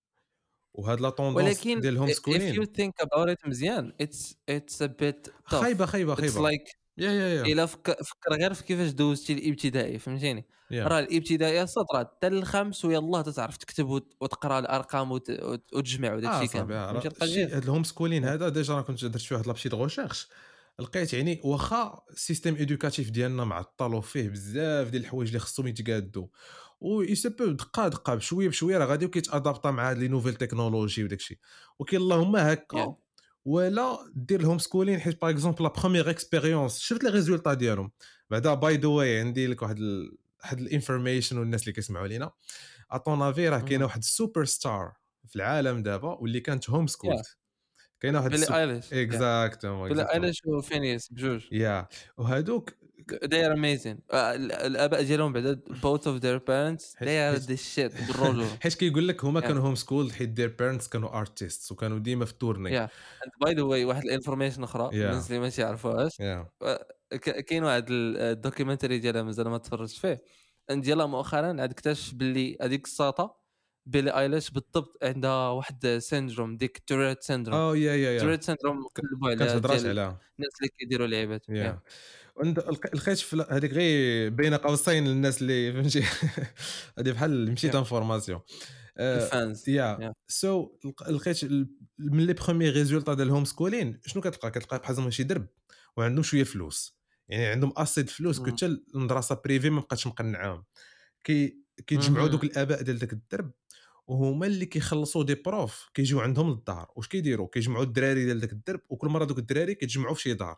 وهاد لا طوندونس ولكن ديال الهوم if you سكولين think about it مزيان it's it's a bit tough. خايبه خايبه it's خايبه like يا يا يا الا فكر فكر غير في كيفاش دوزتي الابتدائي فهمتيني. يا راه الابتدائي سطر حتى الخامس ويلاه تتعرف تكتب وت- وتقرا الارقام وت- وت- وتجمع وداك اه الشيء صافي كامل فهمتي راه القضيه. شي هاد الهوم سكولين هذا ديجا راه كنت درت فيه واحد لابشي دو ريشيرش لقيت يعني واخا السيستيم ايدوكاتيف ديالنا معطل فيه بزاف ديال الحوايج اللي خصهم يتقادوا و يسبب دقه دقه بشويه بشويه راه غادي كيتادابطا مع هاد لي نوفيل تكنولوجي وداك الشيء. ولكن اللهم هكا Yeah. ولا دير الهوم سكولين حيت باغ اكزومبل لا بروميير اكسبيريونس شفت لي ريزولطا ديالهم بعدا باي ذا واي عندي لك واحد ال... واحد الانفورميشن والناس اللي كيسمعوا لينا اطون افي راه كاينه مهم. واحد السوبر ستار في العالم دابا واللي كانت هوم Yeah. سكولت. كاينه واحد بيلي السوبر ايليش yeah. اكزاكتومون بيلي اكزاكتومون ايليش وفينيس بجوج يا وهادوك they are amazing. آه، ال- الاباء ديالهم بعدا both of their parents they are حيت the shit بالرجوله. حيت كيقول لك هما Yeah. كانوا هوم سكول حيت دير بيرنتس كانوا ارتيست وكانوا ديما في التورني. yeah and by the way واحد الانفورميشن اخرى يا الناس اللي ما يعرفوهاش يا ك- كاين واحد الدوكيومنتري ديالها مازال ما تفرجت فيه ديالها مؤخرا عاد اكتشف باللي هذيك الساطه بيلي ايليش بالضبط عندها واحد سيندروم ديك توريت سيندروم. اه يا يا يا توريت سيندروم كلبوا كانت عليها هضرات ديال عليها الناس اللي كيديروا لعيبات. يا عند لقيت في هذيك غير بين قوسين للناس اللي فهمتي هذه بحال مشيت انفورماسيون الفانز يا سو لقيت من لي بروميير ريزولطا ديال الهوم سكولين شنو كتلقى كتلقى بحال شي درب وعندهم شويه فلوس يعني عندهم اسيد فلوس كنت المدرسه بريفي ما بقاتش مقنعاهم كي كيتجمعوا دوك الاباء ديال داك الدرب وهما اللي كيخلصوا دي بروف كيجيو عندهم للدار واش كيديروا كيجمعوا الدراري ديال داك الدرب وكل مره دوك الدراري كيتجمعوا في شي دار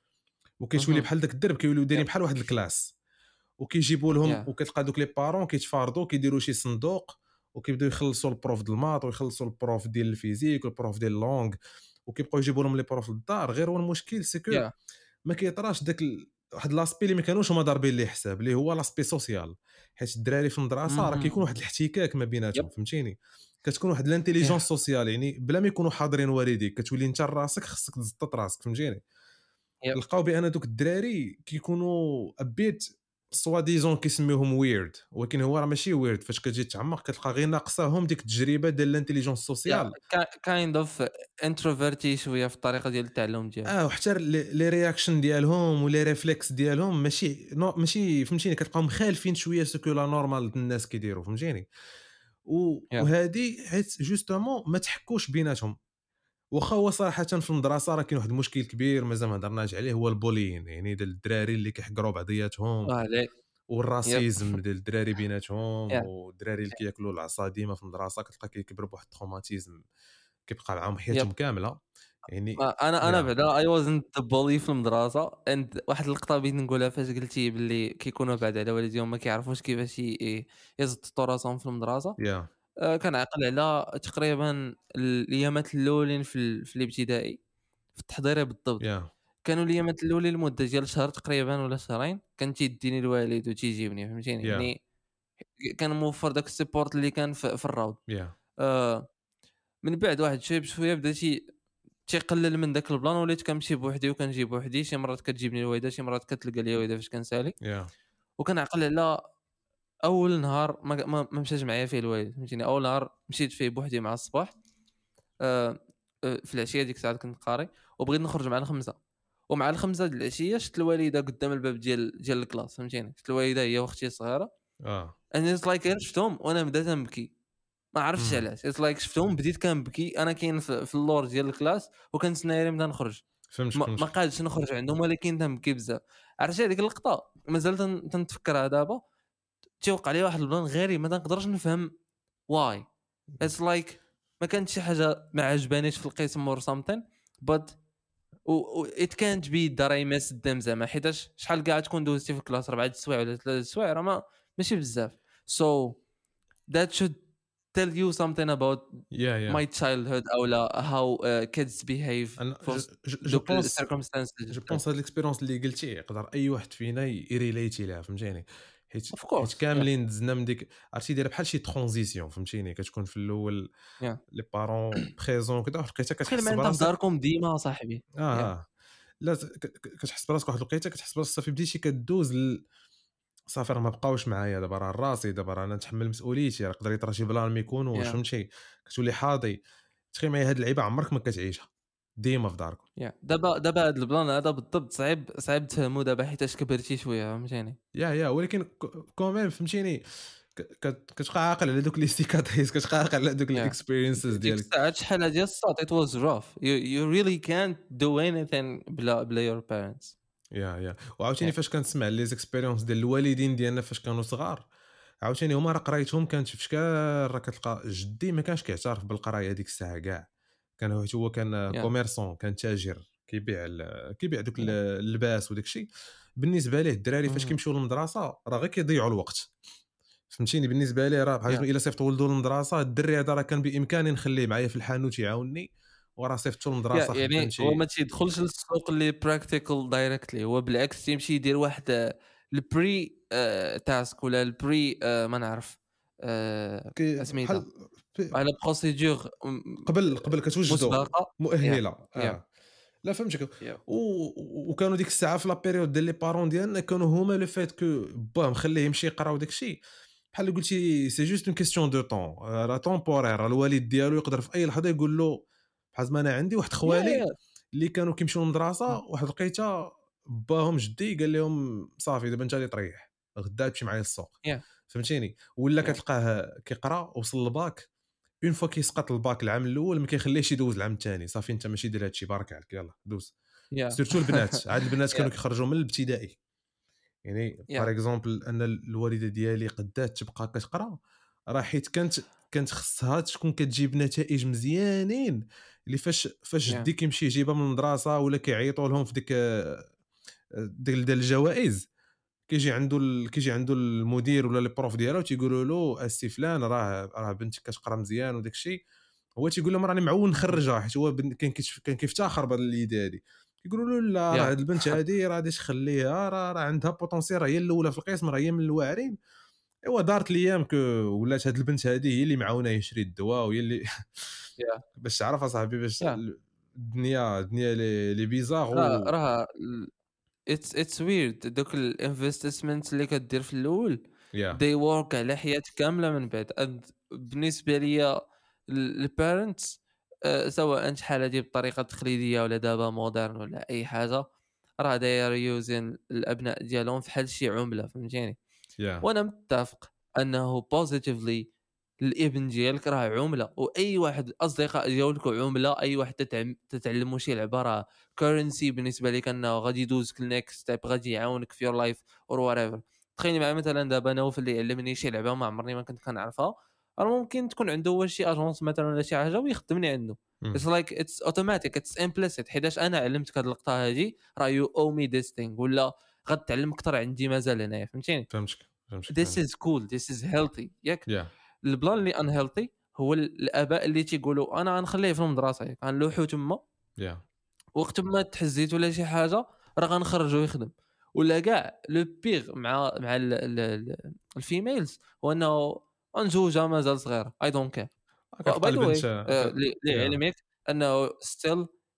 وكيتولي بحال داك الدرب كيوليو دايرين بحال واحد الكلاس وكيجيبوا لهم Yeah. وكتلقى دوك لي بارون كيتفارضوا كيديروا شي صندوق وكيبداو يخلصوا البروف ديال الماط ويخلصوا البروف ديال الفيزيك والبروف ديال اللونغ وكيبقاو يجيبوا لهم لي بروف للدار. غير هو المشكل سي كو Yeah. ما كيطراش داك ال... واحد لاسبي اللي ما كانوش هما ضاربين ليه حساب اللي هو لاسبي سوسيال حيت الدراري في المدرسه راه كيكون واحد الاحتكاك ما بيناتهم Yep. فهمتيني كتكون واحد الانتيليجونس Yeah. سوسيال يعني بلا ما يكونوا حاضرين والديك كتولي انت راسك خصك تزطط راسك فهمتيني. Yep. لقاو بان دوك الدراري كيكونوا ابيت سوا ديزون كيسميوهم ويرد ولكن هو راه ماشي ويرد فاش كتجي تعمق كتلقى غير ناقصاهم ديك التجربه ديال الانتيليجونس سوسيال كايند اوف انتروفيرتي شويه في الطريقه ديال التعلم ديالهم. اه وحتى لي رياكشن ديالهم ولي ريفلكس ديالهم ماشي نو ماشي فهمتيني كتبقاو مخالفين شويه سكو لا نورمال الناس كيديروا فهمتيني و... Yeah. وهذه حيت جوستومون ما تحكوش بيناتهم. واخا هو صراحه في المدرسه راه كاين واحد المشكل كبير مازال ما هضرناش عليه هو البولين يعني ديال الدراري اللي كيحقروا بعضياتهم اه لي والراسيزم ديال الدراري بيناتهم Yeah. والدراري اللي كياكلوا العصا ديما في المدرسه كتلقى كيكبر بواحد التروماتيزم كيبقى معاهم حياتهم Yep. كامله يعني انا انا Yeah. بعدا اي وازنت بولي في المدرسه اند واحد اللقطه بغيت نقولها فاش قلتي باللي كيكونوا بعد على والديهم ما كيعرفوش كيفاش ي- يزطوا راسهم في المدرسه. يا آه، كنعقل على تقريبا الايامات الاولين في ال- في الابتدائي في التحضيري بالضبط يا كانوا الايامات الاولين لمده ديال شهر تقريبا ولا شهرين كان تيديني الوالد وتيجيبني فهمتيني Yeah. يعني كان موفر داك السيبورت اللي كان في, في الروض. يا آه، من بعد واحد شويه بشويه بداتي تيقلل من داك البلان، وليت كنمشي بوحدي وكنجي بوحدي. شي مرات كتجيبني الوالده، شي مرات كتلقى لي الوالده فاش كنسالي. يا وكنعقل على اول نهار ما ما ما مشاش معايا فيه الوالد، فهمتيني. اول نهار مشيت فيه بوحدي مع الصباح، آه آه، في العشيه ديك الساعه كنت قاري، وبغيت نخرج مع الخمسه. ومع الخمسه د العشيه شفت الوالده قدام الباب ديال ديال الكلاس، فهمتيني. شفت الوالده هي واختي الصغيره، اه انا لايك like شفتهم وانا بديت نبكي، ما عرفتش مم. علاش. لايك like شفتهم بديت كنبكي، انا كاين في, في اللور ديال الكلاس وكنتسنى نبدا نخرج، فهمتك ما, ما فهمتك قادش نخرج عندهم، ولكن تنبكي بزاف. عرفتي هذيك اللقطه مازال تن- تنتفكرها دابا. تيوقع لي واحد البلان غريب ما تنقدرش نفهم واي. اتس لايك ما كانت شي حاجه ما عجبانيش في القسم اور سامثين بات ات كانت بي دراي مس الدم زعما، حيتاش شحال كاع تكون دوزتي في الكلاس اربعه السوايع ولا ثلاثه السوايع، راه ما ماشي بزاف. so that should tell you something about يا يا my childhood او لا how uh, kids behave انا for جو دوك ال بونس circumstances. جو بونس هاد الاكسبيريونس اللي قلتي يقدر اي واحد فينا يريليتي لها، فهمتيني. حيت of حيت course yeah كاملين دزنا من ديك، عرفتي دايره بحال شي ترانزيسيون، فهمتيني. كتكون في الاول yeah لي بارون بريزون كذا، واحد الوقيته بخير كتحس ما انت في براسك داركم ديما صاحبي. اه yeah اه لا ت- ك- ك- كتحس براسك واحد الوقيته، كتحس براسك صافي بديتي كدوز ل... صافي راه ما بقاوش معايا دابا، راه راسي دابا، راه انا نتحمل مسؤوليتي، راه يقدر يطرا شي بلان ما يكونوش، yeah فهمتي. كتولي حاضي. تخيل معايا هاد اللعيبه عمرك ما كتعيشها ديما في داركم. yeah دابا دابا هذا البلان هذا بالضبط صعيب صعيب تفهمو دابا حيتاش كبرتي شويه، فهمتيني. يا يا ولكن كوميم فهمتيني، ك- كت- كتبقى عاقل على دوك لي سيكاتريس، كتبقى عاقل على دوك yeah الاكسبيرينسز ديك ديالك. الساعات شحال ديال الصوت it was rough. you you really can't do anything بلا بلا your parents. يا يا وعاوتاني yeah فاش كنسمع لي زيكسبيريونس ديال الوالدين ديالنا فاش كانوا صغار، عاوتاني هما راه قرايتهم كانت في شكال، راه كتلقى جدي ما كانش كيعترف بالقرايه هذيك الساعه كاع. كان هو هو كان yeah كوميرسون، كان تاجر كيبيع ال- كيبيع دوك yeah اللباس وداك الشيء. بالنسبه ليه الدراري فاش mhm كيمشيو للمدرسه راه غير كيضيعوا الوقت، فهمتيني. بالنسبه ليه راه بحال yeah الا صيفط ولدو للمدرسه، الدري هذا راه كان بامكاني نخليه معايا في الحانوت يعاونني، وراه صيفطو yeah للمدرسه يعني هو خدمتي. ما تيدخلش للسوق اللي براكتيكال دايركتلي، هو بالعكس تيمشي يدير واحد البري تاسك ولا البري ما نعرف كي اسميتها بحال في- على بروسيدور قبل قبل كتوجدوا مسبقه. yeah مؤهله. yeah اه لا فهمتك. yeah و... وكانوا ديك الساعه في لا بيريود ديال لي بارون ديالنا كانوا هما لو فيت كو باه مخليه يمشي يقرا وداك الشيء، بحال اللي قلتي سي جوست اون كيستيون دو طون، راه طومبورير. الوالد ديالو يقدر في اي لحظه يقول له، بحال ما انا عندي واحد yeah خوالي yeah اللي كانوا كيمشيو للمدرسه، mm, واحد لقيته باهم جدي قال لهم صافي دابا انت اللي تريح، غدا تمشي معايا للسوق، yeah فهمتيني. ولا yeah كتلقاه كيقرا وصل الباك، اون فوا كيسقط الباك العام الاول ما كيخليهش يدوز العام الثاني، صافي انت ماشي دير هادشي، بارك عليك يلا دوز. yeah سيرتو البنات، عاد البنات yeah كانوا كيخرجوا من الابتدائي. يعني yeah بار اكزومبل انا الوالده ديالي قدات تبقى كتقرا، راه حيت كانت كانت خصها تكون كتجيب نتائج مزيانين، اللي فاش فاش yeah جدي كيمشي يجيبها من المدرسه ولا كيعيطوا لهم في ديك ديك ديال الجوائز، كيجي عنده ال... كيجي عنده المدير ولا لي بروف ديالو تيقولوا له السي فلان راه راه بنتك كتقرا مزيان وداك الشيء، هو تيقول لهم راني معول نخرجها، حيت هو بن... كان كيتف... كان كيفتخر بهذه اليد هذه. يقولوا له لا راه yeah هاد البنت هذه راه غادي تخليها، راه راه عندها بوتونسيال، راه هي الاولى في القسم، راه هي من الواعرين. ايوا دارت الايام كو ولات هاد البنت هذه هي اللي معاونه يشري الدواء، وهي اللي yeah باش تعرف اصاحبي باش yeah الدنيا الدنيا لي لي بيزار راه و راه اتس اتس ويرد دوك الانفستمنت اللي كدير في الاول يا they work على حياتك كامله من بعد. And بالنسبه ليا البارنتس سواء شحال هادي بالطريقه التقليديه ولا دابا مودرن ولا اي حاجه، راه داير يوزن الابناء ديالهم فحال شي عمله، فهمتيني. يا وانا متفق انه بوزيتيفلي الابن ديالك راه عمله، واي واحد الاصدقاء ديالك عمله، اي واحد تتعلم تتعلموا شي لعبه راه كورنسي بالنسبه لك، انه غادي يدوزك النيكست ستيب، غادي يعاونك في يور لايف اور وات. تخيلي مع مثلا دابا نوف اللي علمني شي لعبه ما عمرني ما كنت كنعرفها، راه ممكن تكون عنده هو شي اجونس مثلا ولا شي حاجه ويخدمني عنده. اتس لايك اتس اوتوماتيك اتس امبليسيت، حيتاش انا علمتك هاد اللقطه هادي، راه يو او مي ذيس ثينغ، ولا غتعلم اكثر عندي مازال هنايا، فهمتيني. فهمتك فهمتك this is cool this is healthy ياك. يا البلان اللي unhealthy هو الاباء اللي تيقولوا انا غنخليه في المدرسه ياك، غنلوحو تما، يا وقت ما تحزيت ولا شي حاجه راه غنخرجو يخدم. ولا كاع لو بيغ مع مع ال- ال- ال- الفيميلز هو انه انزوجها مازال صغيره اي دونت كير. باي كتلقى ذا البنت واي ك... يا لعلمك انه ستيل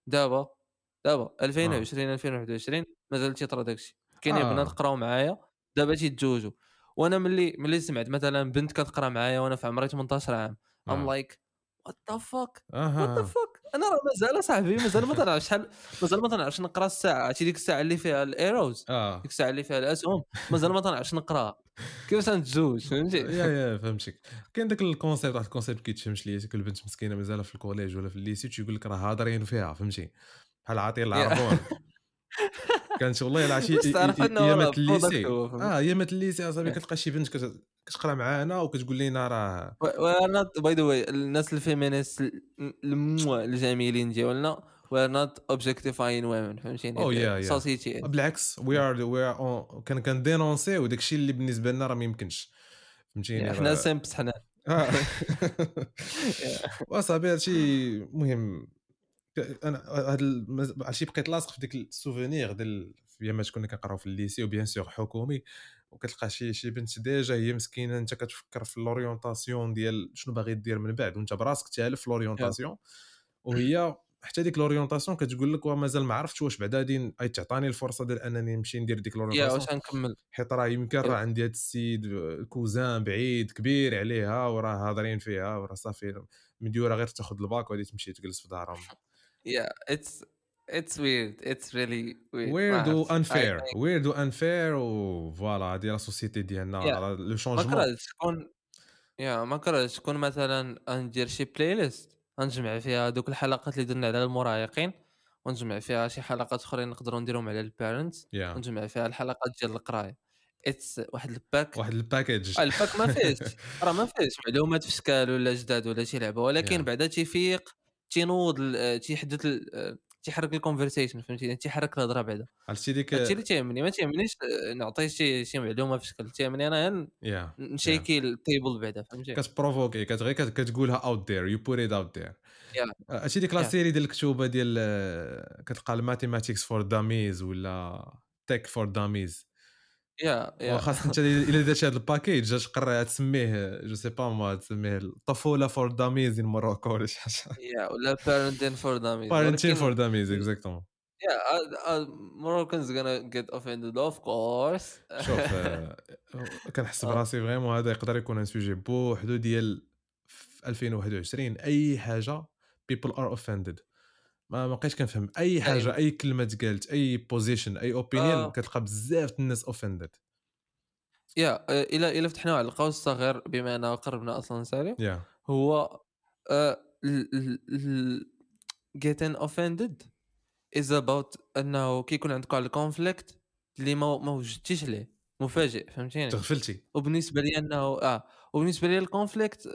دابا دابا ألفين اه وعشرين ألفين وواحد وعشرين مازال تيطرا داكشي كاين بنات اه قراو معايا دابا تيتزوجوا وانا ملي ملي سمعت مثلا بنت كتقرا معايا وانا في عمري ثمانطاش عام ام اه لايك وات ذا فاك اه وات ذا اه فاك انا راه مازال صاحبي مازال ما تنعرف شحال مازال ما تنعرفش نقرا الساعه عرفتي ديك الساعه اللي فيها الايروز اه ديك الساعه اللي فيها الاسهم مازال ما تنعرفش نقراها كيفاش نتزوج فهمتي يا يا فهمتك. كاين داك الكونسيبت، واحد الكونسيبت كيتفهمش ليا، كل بنت مسكينه مازال في الكوليج ولا في الليسي تيقول لك راه هادرين فيها، فهمتي، بحال عاطي العربون. كانت والله الا عرفتي باش تعرف انه راه ايامات برودكت الليسي، هو فهمتي اه ايامات الليسي اصاحبي كتلقى شي بنت كت- كتقرا معانا وكتقول لنا راه we're not by the way الناس الفيمينيست المو الجميلين ديالنا we're not objectifying women فهمتيني او يا the يا society is. بالعكس وي ار وي ار كان كندينونسي وداك الشيء اللي بالنسبه لنا راه ما يمكنش، فهمتيني يعني حنا راه سامبس حنا اه واصاحبي هادشي مهم. ك- انا هاد المز- عرفتي بقيت لاصق في ديك السوفونير ديال ايامات كنا كنقراو في الليسي وبيان سور حكومي، وكتلقى شي شي بنت ديجا هي مسكينه انت كتفكر في لوريونطاسيون ديال شنو باغي دير من بعد وانت براسك تالف في yeah. لوريونطاسيون، وهي حتى ديك لوريونطاسيون كتقول لك ومازال ما عرفتش واش بعدا غادي اي تعطاني الفرصه ديال انني نمشي ندير ديك yeah, لوريونطاسيون، واش غنكمل حيت راه يمكن راه yeah. عندي هاد السيد كوزان بعيد كبير عليها وراه هاضرين فيها وراه صافي مديوره غير تاخذ الباك وغادي تمشي تجلس في دارهم. yeah it's it's weird it's really weird ما ويرد و عرفتش I انفير think ويرد و انفير و فوالا هادي لا سوسيتي ديالنا yeah راه لو ما شونجمون. كرهتش تكون يا ما كرهتش تكون مثلا ندير شي بلاي ليست غنجمع فيها دوك الحلقات اللي درنا على المراهقين ونجمع فيها شي حلقات اخرين نقدروا نديرهم على البيرنتس يا ونجمع فيها الحلقات ديال القرايه اتس واحد الباك واحد الباكيج. آه، الباك ما فيهش راه ما فيهش معلومات في شكال ولا جداد ولا شي لعبه ولكن يا بعدا تيفيق تينوض ال- آه، تيحدث ال- آه، تيحرك الكونفرسيشن فهمتيني تيحرك الهضره بعدا عرفتي ديك هادشي اللي تيهمني ما تيهمنيش آه، نعطي شي شي معلومه في شكل تيهمني انا غير يا يا نشيكي التيبل بعدا فهمتي كتبروفوكي كتغير كت- كتقولها اوت ذير يو بوت ات اوت ذير. يا عرفتي ديك لا يا سيري ديال الكتوبه ديال آه، كتلقى الماتيماتيكس فور داميز ولا تك فور داميز، يا يا وخاص انت الا درتي هذا الباكيج اش قرا تسميه جو سي با ما تسميه الطفوله فور داميز ان موروكو ولا شي حاجه. يا ولا parenting for dummies بارنتين ولكن فور داميز اكزاكتومون. yeah uh, uh, Moroccans gonna get offended of course شوف آه، كنحس اه براسي فريمون هذا يقدر يكون ان سوجي بوحدو ديال في ألفين وواحد وعشرين اي حاجه people are offended. ما ما بقيتش كنفهم اي دائما حاجه اي كلمه تقالت اي بوزيشن اي اوبينيون آه كتلقى بزاف د الناس offended. يا آه، الى الى فتحنا على القوس الصغير بما اننا قربنا اصلا نسالي يا هو آه ال ال ال getting offended is about انه كيكون عندك على الكونفليكت اللي ما ما وجدتيش ليه مفاجئ فهمتيني تغفلتي. وبالنسبه لي انه اه وبالنسبه لي الكونفليكت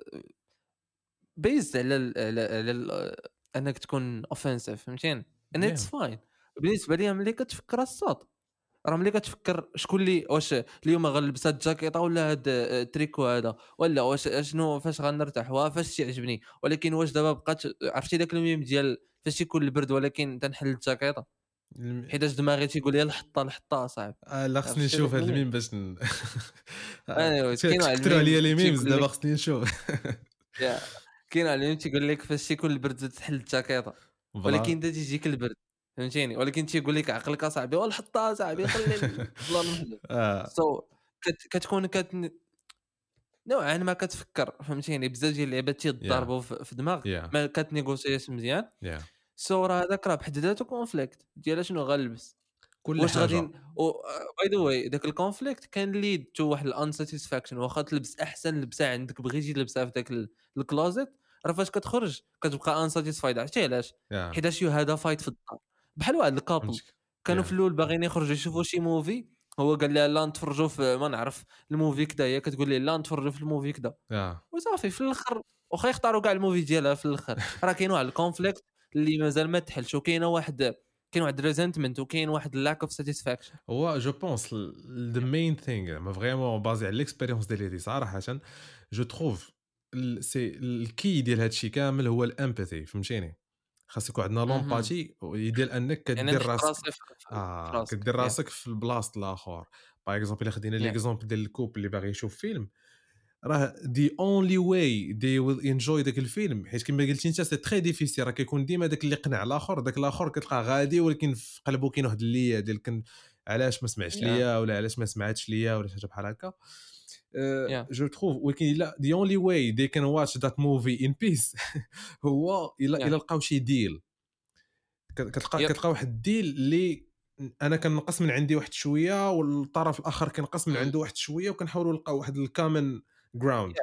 بيزد على ال على, على ال انك تكون اوفنسيف فهمتيني ان اتس يا فاين بالنسبه لي ملي كتفكر الصوت راه ملي كتفكر شكون اللي واش اليوم غنلبس هاد الجاكيطه ولا هاد التريكو هذا ولا واش شنو فاش غنرتاح وفاش تيعجبني ولكن واش دابا بقات عرفتي داك الميم ديال فاش تيكون البرد ولكن تنحل الجاكيطه الم... حيتاش دماغي تيقول لي الحطه الحطه صاحبي آه لا خصني عرفتي نشوف داك هاد الميم الميم باش ن... آه، انا كاين واحد كتكثروا عليا الميم لي ميمز تيقول دابا لك خصني نشوف. يا كاين واحد الميم تيقول لك فاش تيكون البرد تحل الجاكيطه ولكن فوالا انت تيجيك البرد فهمتيني ولكن تيقول لك عقلك اصاحبي والحطه صاحبي خلي البلان محلول اه سو so, كت... كتكون كت... نوعا ما كتفكر فهمتيني بزاف ديال اللعيبات يا تيضربوا في, في دماغك يا ما كتنيغوسياش مزيان يا سو راه هذاك راه بحد ذاته كونفليكت ديال شنو غنلبس كل واش غادي حاجه. باي ذا واي داك الكونفليكت كان ليد تو واحد الانساتيسفاكشن واخا تلبس احسن لبسه عندك بغيتي تلبسها في داك الكلوزيت راه فاش كتخرج كتبقى انساتيسفايد عرفتي علاش يا حيتاش يو هذا فايت في الدار بحال واحد الكابل فهمتك. كانوا في يا الاول باغيين يخرجوا يشوفوا شي موفي هو قال لها لا نتفرجوا في ما نعرف الموفي كذا هي كتقول لي لا نتفرجوا في الموفي كذا يا وصافي في الاخر واخا يختاروا كاع الموفي ديالها في الاخر راه كاين واحد الكونفليكت اللي مازال ما تحلش وكاينه واحد كاين واحد ريزنتمنت وكاين واحد لاك اوف ساتيسفاكشن هو جو بونس ذا مين ثينغ ما فريمون بازي على ليكسبيريونس ديالي هذه صراحه جو تروف سي الكي ديال هادشي كامل هو الامباثي فهمتيني. خاص يكون عندنا اها لومباتي ديال انك يعني كدير نحط راسك راسي في في- في اه راسك كدير يا راسك في البلاصه الاخر. باغ اكزومبل الا خدينا يا ليكزومبل ديال الكوب اللي باغي يشوف فيلم راه the only way they will enjoy داك الفيلم، حيت كما قلتي انت سي تري ديفيسيل، راه كيكون ديما داك اللي قنع الاخر، داك الاخر كتلقاه غادي ولكن في قلبه كاين واحد اللي ديال كن علاش ما سمعش yeah ليا ولا علاش ما سمعتش ليا ولا شي حاجه بحال هكا. yeah جو تروف ولكن لا the only way they can watch that movie in peace هو الا yeah الا لقاو شي ديل، كتلقى yep كتلقى واحد الديل اللي انا كنقص من عندي واحد شويه والطرف الاخر كنقص من mm. عنده واحد شويه، وكنحاولوا نلقاو واحد الكامن جراوند.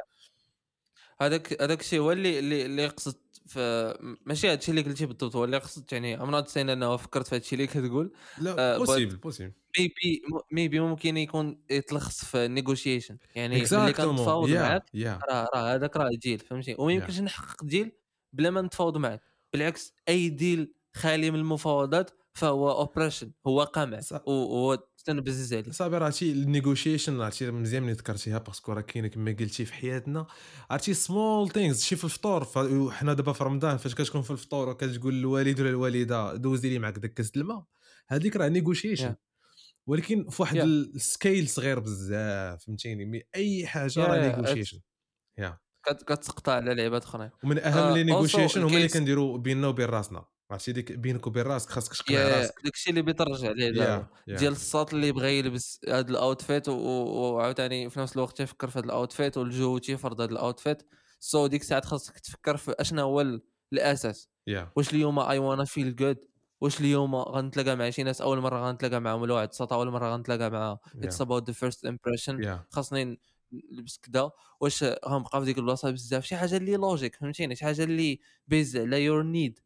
هذاك هذاك الشيء هو اللي اللي اللي قصدت في ماشي هادشي اللي قلتي بالضبط، هو اللي قصدت يعني I'm not saying انه فكرت في هادشي اللي كتقول لا uh, but بوسيبل بوسيبل maybe maybe ممكن يكون يتلخص في negotiation، يعني ملي اكزاكتومون كنتفاوض يا معاك يا راه راه هذاك راه ديل فهمتي، وما يا يمكنش نحقق ديل بلا ما نتفاوض معاك. بالعكس اي ديل خالي من المفاوضات فهو اوبريشن، هو قمع وهو تنبزز عليه. صافي راه هادشي النيغوشيشن، هادشي مزيان ملي ذكرتيها باسكو راه كاينه كما قلتي في حياتنا عرفتي سمول ثينجز. شي في الفطور حنا دابا في رمضان فاش كتكون في الفطور وكتقول للوالد ولا الوالده دوزي لي معك داك كاس الماء، هذيك راه نيغوشيشن، يا ولكن في واحد يا السكيل صغير بزاف فهمتيني. مي اي حاجه راه يا نيغوشيشن يا كتقطع على لعبات اخرى. ومن اهم لي اولسو نيغوشيشن هما اللي الكيس كنديروا بيننا وبين راسنا. عرفتي ديك بينك وبين راسك خاصك تقنع يا راسك. داكشي اللي بيترجع عليه دابا يا يا ديال الساط اللي بغى يلبس هاد الاوتفيت وعاوتاني في نفس الوقت تيفكر في هاد الاوتفيت والجو تيفرض هاد الاوتفيت. سو ديك الساعه خاصك تفكر في اشنا هو ال- الاساس. يا واش اليوم اي وانا فيل جود، واش اليوم غنتلاقى مع شي ناس اول مره غنتلاقى معاهم ولا واحد الساط اول مره غنتلاقى معاه اتس يا اباوت ذا فيرست امبريشن، يا خاصني نلبس كذا. واش غنبقى في ديك البلاصه بزاف شي حاجه اللي لوجيك فهمتيني، شي حاجه اللي بيز على يور نيد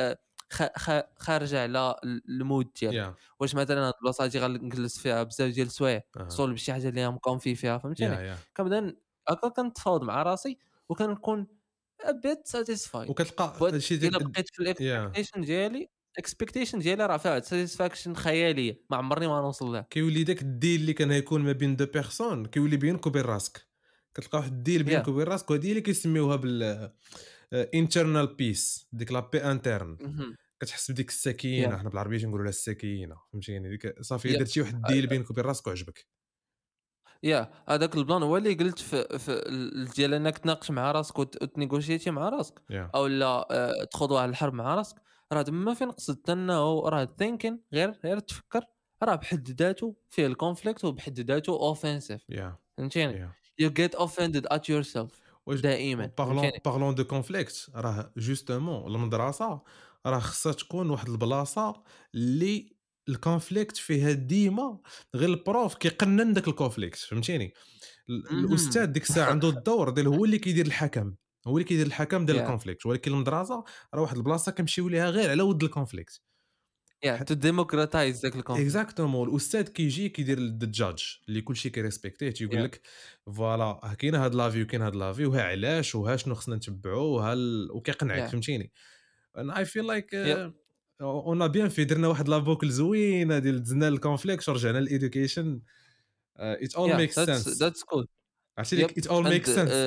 خارجه على المود ديالك. يا واش مثلا هاد البلاصه هادي غنجلس فيها بزاف ديال السوايع اها صول بشي حاجه اللي مكونفي فيها يا فهمتيني. يا كنبدا هكا كنتفاوض مع راسي وكنكون a bit satisfied. وكتلقى but هادشي الا ديال بقيت في يا الاكسبكتيشن ديالي الاكسبكتيشن ديالي راه فيها واحد ساتيسفاكشن خياليه ما عمرني ما نوصل لها. كيولي داك الديل اللي كان يكون ما بين دو بيرسون كيولي بينك وبين راسك. كتلقى واحد الديل بينك يا وبين راسك، وهذه اللي كيسميوها بال انترنال بيس، ديك لا بي انترن. مهم. كتحس بديك السكينه، يا حنا بالعربيه تنقولوا لها السكينه فهمتيني. ديك صافي يا درتي واحد الديل بينك وبين راسك وعجبك. يا هذاك البلان هو اللي قلت في, في ال- ديال انك تناقش مع راسك وت- وتنيغوشيتي مع راسك يا او لا آه، تخوض واحد الحرب مع راسك. راه تما فين قصدت انه راه ثينكين غير غير تفكر راه بحد ذاته فيه الكونفليكت وبحد ذاته اوفنسيف يا فهمتيني. يا you get offended at yourself واش دائما بارلون فهمتيني. بارلون دو كونفليكت، راه جوستومون المدرسه راه خصها تكون واحد البلاصه اللي الكونفليكت فيها ديما غير البروف كيقنن داك الكونفليكت فهمتيني. ال- الاستاذ مهم. ديك الساعه عنده الدور ديال هو اللي كيدير الحكم، هو اللي كيدير الحكم ديال yeah الكونفليكت، ولكن المدرسه راه واحد البلاصه كنمشيو ليها غير على ود الكونفليكت. yeah to democratize ذاك الكونفليكت. اكزاكتومون الاستاذ كيجي كيدير الجادج اللي كلشي كيريسبكتيه، تيقول yeah لك فوالا كاين هاد لافي وكاين هاد لافي وها علاش وها شنو خصنا نتبعوا وها ال... وكيقنعك yeah فهمتيني. انا اي فيل لايك yep اون بيان في درنا واحد لابوكل زوينه ديال دزنا الكونفليكت ورجعنا للإيدوكيشن. ات اول yeah ميكس that's سنس. that's cool. عرفتي yep ديك ات اول and ميكس سنس. uh,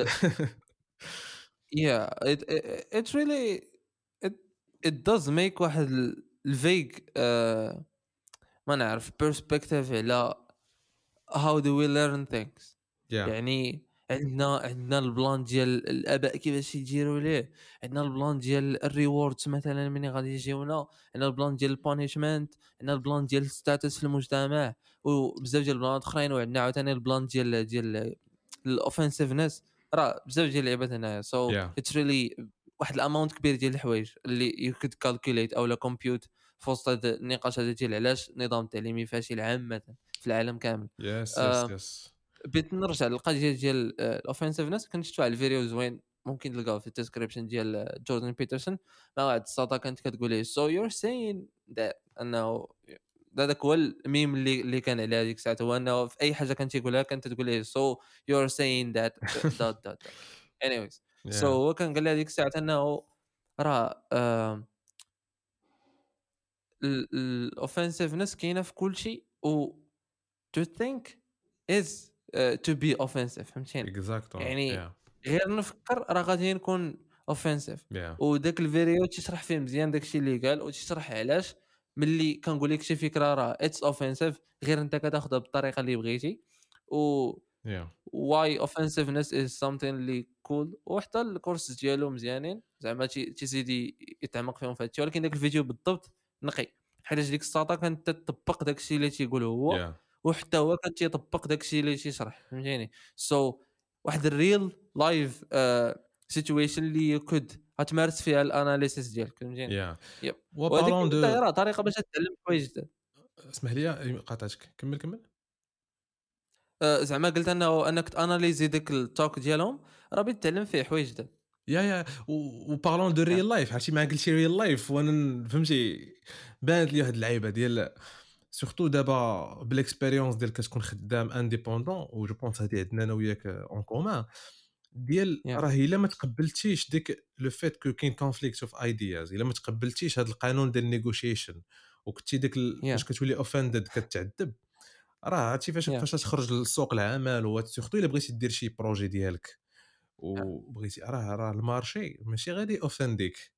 yeah it, it it really it it does make واحد ال- الفيج uh, ما نعرف perspective على how do we learn things. يا يعني عندنا عندنا البلان ديال الاباء كيفاش يديروا ليه، عندنا البلان ديال الريوردز مثلا ملي غادي يجيونا، عندنا البلان ديال البانيشمنت، عندنا البلان ديال الستاتس في المجتمع وبزاف ديال البلانات اخرين، وعندنا عاوتاني البلان ديال ديال الاوفنسيفنس. راه بزاف ديال اللعيبات هنايا. سو يا اتس ريلي واحد الاماونت كبير ديال الحوايج اللي يو كود كالكوليت او لا كومبيوت في وسط هذا النقاش هذا ديال علاش النظام التعليمي فاشل عامه في العالم كامل. يس يس آه يس بغيت نرجع للقضيه ديال الاوفنسيفنس. كنت شفت واحد الفيديو زوين ممكن تلقاوه في الديسكريبشن ديال جوردن بيترسون مع واحد الساطا كانت كتقول ليه سو يور سين انه هذاك هو الميم اللي اللي كان على هذيك الساعه، هو انه في اي حاجه كانت يقولها كانت تقول ليه سو يور سين ذات دوت دوت anyways. سو يا هو كان قال لي هذيك الساعه انه راه الاوفنسيفنس كاينه في كل شيء و to think is uh, to be offensive فهمتيني. اكزاكتومون يعني يا غير نفكر راه غادي نكون offensive. يا وداك الفيديو تشرح فيه مزيان داكشي اللي قال وتشرح علاش ملي كنقول لك شي فكره راه اتس offensive غير انت كتاخذها بالطريقه اللي بغيتي و yeah واي اوفنسيفنس از سامثين اللي كول. وحتى الكورس ديالو مزيانين زعما تي- تيزيد يتعمق فيهم في هادشي، ولكن داك الفيديو بالضبط نقي حيت ديك الساطا كانت تطبق داكشي اللي تيقول هو، yeah وحتى هو كان تيطبق داكشي اللي تيشرح فهمتيني. سو so, واحد الريل لايف سيتويشن اللي يكود غتمارس فيها الاناليسيس ديالك فهمتيني. yeah يب وهذيك وبارون حتى دو هي راه طريقه باش تتعلم حوايج جداد. اسمح لي قاطعتك كمل كمل آه، زعما قلت انه انك تاناليزي ديك التوك ديالهم راه بتتعلم فيه حوايج جداد. يا يا وبارلون دو ريل لايف عرفتي ما قلتي ريل لايف وانا فهمتي بانت لي واحد اللعيبه ديال سورتو دابا بالاكسبيريونس ديال كتكون خدام انديبوندون و جو بونس هادي عندنا انا وياك اون كومان ديال Yeah. راه الا ما تقبلتيش ديك لو فيت كو كاين كونفليكت اوف ايدياز، الا ما تقبلتيش هذا القانون ديال النيغوشيشن وكنتي ديك ال- Yeah. فاش كتولي اوفندد كتعذب، راه عرفتي فاش Yeah. فاش تخرج لسوق العمل وسورتو الا بغيتي دير شي بروجي ديالك وبغيتي راه راه المارشي ماشي غادي اوفنديك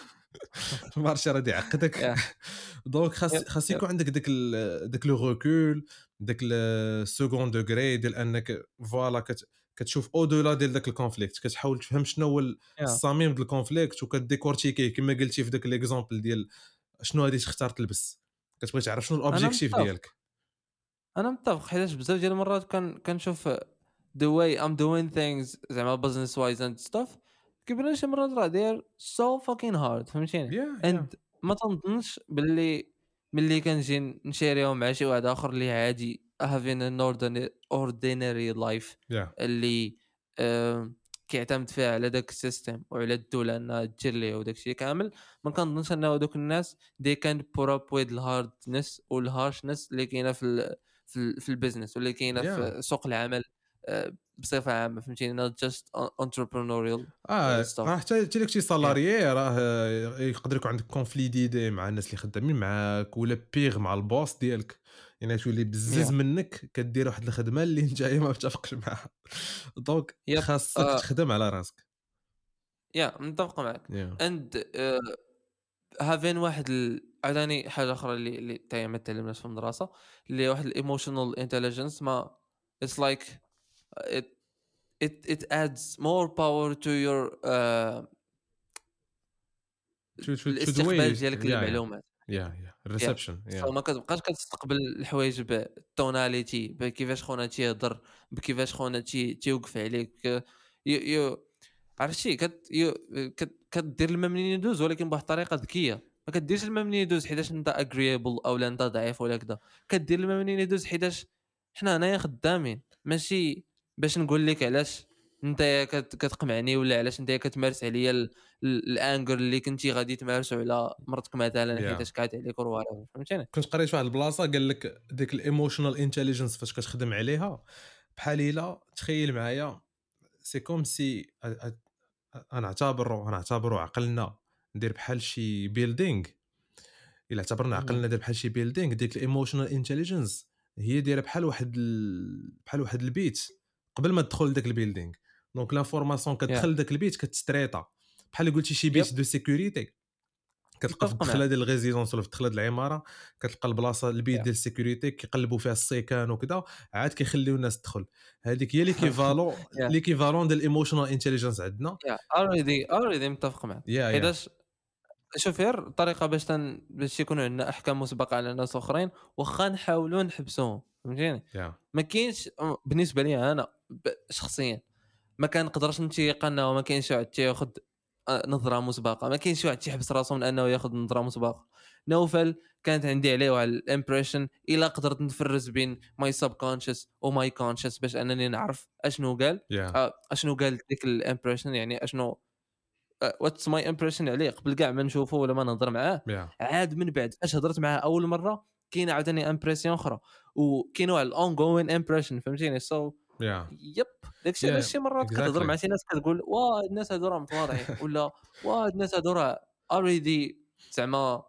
المارشي راه يعقدك Yeah. دونك خاص Yep. خاص Yep. يكون عندك داك ال- داك لو ريكول داك السكوند دوغري ديال انك فوالا كت كتشوف او دولا ديال داك الكونفليكت، كتحاول تفهم شنو هو ال- Yeah. الصميم ديال الكونفليكت وكديكورتيكيه كما قلتي في داك ليكزامبل ديال شنو غادي تختار تلبس، كتبغي تعرف شنو انا الاوبجيكتيف متفق ديالك. انا متفق حيت بزاف ديال المرات كان كنشوف the way I'm doing things زعما business wise and stuff كيبان شي مرات راه داير so fucking hard فهمتيني. Yeah, yeah. and ما تنظنش باللي ملي كنجي نشاريو مع شي واحد اخر اللي عادي having an ordinary, ordinary life Yeah. اللي آه كيعتمد فيها على داك السيستم وعلى الدوله انها دير ليه وداك الشيء كامل. ما كنظنش انه دوك الناس they can put up with الهاردنس والهارشنس اللي كاينه في ال في, ال في البيزنس واللي كاينه Yeah. في سوق العمل آه بصفه عامه فهمتيني. not just entrepreneurial اه stuff. راه حتى حتى داكشي سالاريي راه يقدر يكون عندك كونفلي ديدي مع الناس اللي خدامين معاك ولا بيغ مع البوس ديالك، يعني تولي بزز Yeah. منك كدير واحد الخدمه اللي انت ما متفقش معها دونك Yep. خاصك آه. تخدم على راسك. يا yeah, متفق معك. yeah. and uh, having واحد ال... عاوداني حاجه اخرى اللي اللي حتى ما تعلمناش في المدرسه اللي واحد الايموشنال انتليجنس ما it's like it it it adds more power to your uh, شو شو الاستقبال ديالك يا للمعلومات. يا يا الريسبشن سو ما كتبقاش كتستقبل الحوايج بالتوناليتي بكيفاش خونا تيهضر بكيفاش خونا تي تيوقف عليك يو يو عرفتي كت يو كت كدير الماء منين يدوز ولكن بواحد الطريقه ذكيه. ما كديرش الماء منين يدوز حيتاش انت اغريبل او انت ضعيف ولا كذا. كدير الماء منين يدوز حيتاش حنا هنايا خدامين ماشي باش نقول لك علاش انت كتقمعني ولا علاش انت كتمارس عليا الانجر اللي كنتي غادي تمارسوا على مرتك مثلا Yeah. حيتاش كعاد عليك وروالي فهمتيني. كنت قريت واحد البلاصه قال لك ديك الايموشنال انتليجنس فاش كتخدم عليها بحال الا تخيل معايا سي كوم سي انا اعتبره انا اعتبره عقلنا ندير بحال شي بيلدينغ. الا اعتبرنا عقلنا ندير بحال شي بيلدينغ ديك الايموشنال انتليجنس هي دايره بحال واحد ال... بحال واحد البيت قبل ما تدخل لذاك البيلدينغ. دونك لانفورماسيون كتدخل لذاك البيت كتستريطا بحال قلتي شي بيت دو سيكوريتي كتلقى في الدخله ديال الريزيدونس ولا في الدخله ديال العماره كتلقى البلاصه البيت ديال السيكوريتي كيقلبوا فيها السيكان وكذا عاد كيخليو الناس تدخل. هذيك هي ليكيفالون ليكيفالون ديال الايموشنال انتليجنس عندنا. يا اوريدي اوريدي متفق معك حيتاش شوف غير الطريقه باش تن... باش يكونوا عندنا احكام مسبقه على ناس اخرين واخا نحاولوا نحبسوهم فهمتيني. yeah. ما كاينش بالنسبه لي انا ب... شخصيا ما كنقدرش نتيق انه ما كاينش واحد تياخذ نظره مسبقه. ما كاينش واحد تيحبس راسو من انه ياخذ نظره مسبقه. نوفل كانت عندي عليه واحد الامبريشن الا قدرت نفرز بين ماي سب كونشس وماي كونشس باش انني نعرف اشنو قال yeah. آه اشنو قال ديك الامبريشن يعني اشنو واتس ماي امبريشن عليه قبل كاع ما نشوفه ولا ما نهضر معاه. yeah. عاد من بعد فاش هضرت معاه اول مره كاين عاوتاني امبريسيون اخرى وكاين واحد الاون جوين امبريشن فهمتيني. سو so, yeah. يب داكشي علاش yeah. شي مرات exactly. كتهضر مع شي ناس كتقول واه الناس هادو راه متواضعين ولا واه الناس هادو راه اوريدي زعما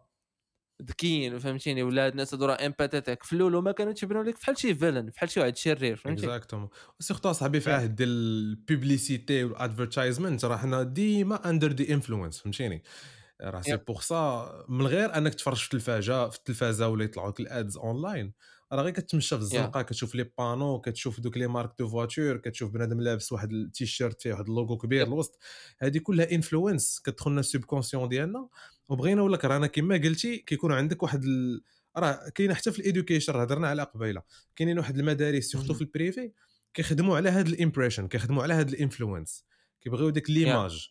ذكيين فهمتيني ولا هاد الناس هادو راه امباتيتيك في الاول وما كانوا تيبانوا لك بحال شي فيلن بحال شي واحد شرير فهمتي. اكزاكتومون سيرتو صاحبي في عهد ديال البوبليسيتي والادفيرتايزمنت راه حنا ديما اندر دي انفلونس فهمتيني. راه سي بوغ سا من غير انك تفرج في التلفازه في التلفازه ولا يطلعوا لك الادز اونلاين راه غير كتمشى في يا الزنقه كتشوف لي بانو كتشوف دوك لي مارك دو فواتور كتشوف بنادم لابس واحد التيشيرت فيه واحد اللوغو كبير يب الوسط هذه كلها انفلونس كتدخلنا السوبكونسيون ديالنا وبغينا ولا كرهنا كما قلتي كيكون عندك واحد ال... راه كاين حتى في الادوكيشن هضرنا على قبيله كاينين واحد المدارس سورتو في البريفي كيخدموا على هذا الامبريشن كيخدموا على هذا الانفلونس كيبغيو ديك يا ليماج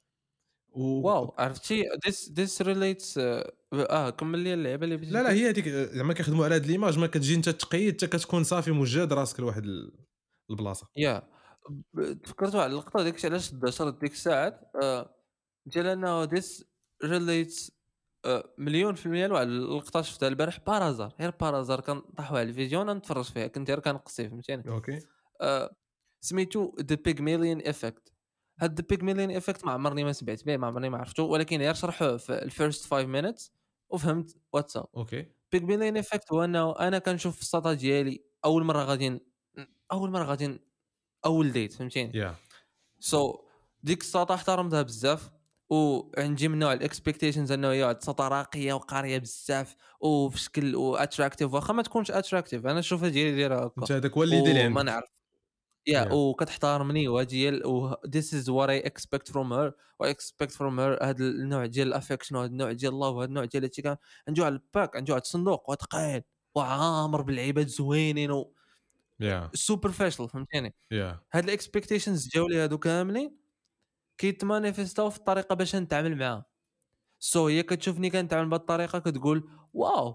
و واو عرفتي this this relates اه آه، كمل لي اللعبه اللي بغيتي لا لا تقول. هي هذيك زعما كيخدموا على هذه ليماج ما كتجي انت تقيد حتى كتكون صافي مجهد راسك لواحد ال- البلاصه يا ب- تفكرتوا على اللقطه ديك الشيء علاش دشرت ديك الساعات آه، ديال انه this relates آه، مليون في المية لواحد اللقطه شفتها البارح بارازار غير بارازار كنطيحوا على الفيديو انا نتفرج فيها كنت غير كنقصي فهمتيني اوكي آه، سميتو ذا بيغميليون ايفكت. هاد ذا بيغميليون ايفكت ما عمرني ما سمعت به ما عمرني ما عرفتو ولكن غير شرحوه في الفيرست خمسة مينيتس وفهمت واتساب. اوكي بيغميليون ايفكت هو انه انا كنشوف في السطا ديالي اول مره غادي ن- اول مره غادي ن- اول ديت فهمتيني يا سو so, ديك السطا احترمتها بزاف وعندي من نوع الاكسبكتيشنز انه هي واحد السطا راقيه وقاريه بزاف وفي شكل واتراكتيف واخا ما تكونش اتراكتيف انا نشوفها ديالي دايره هكا انت هذاك هو اللي يدير وما عندك نعرف يا يا وكتحترمني وهادي هي ال- و this is what I expect from her و I expect from her هاد النوع ديال الافكشن وهاد النوع ديال الله وهاد النوع ديال هادشي كان عنده على الباك عنده واحد الصندوق وثقيل وعامر باللعيبات زوينين و يا سوبر فاشل فهمتيني يا هاد الاكسبكتيشنز جاو لي هادو كاملين كيتمانيفيستاو في الطريقه باش نتعامل معاها سو هي كتشوفني كنتعامل بهاد الطريقه كتقول واو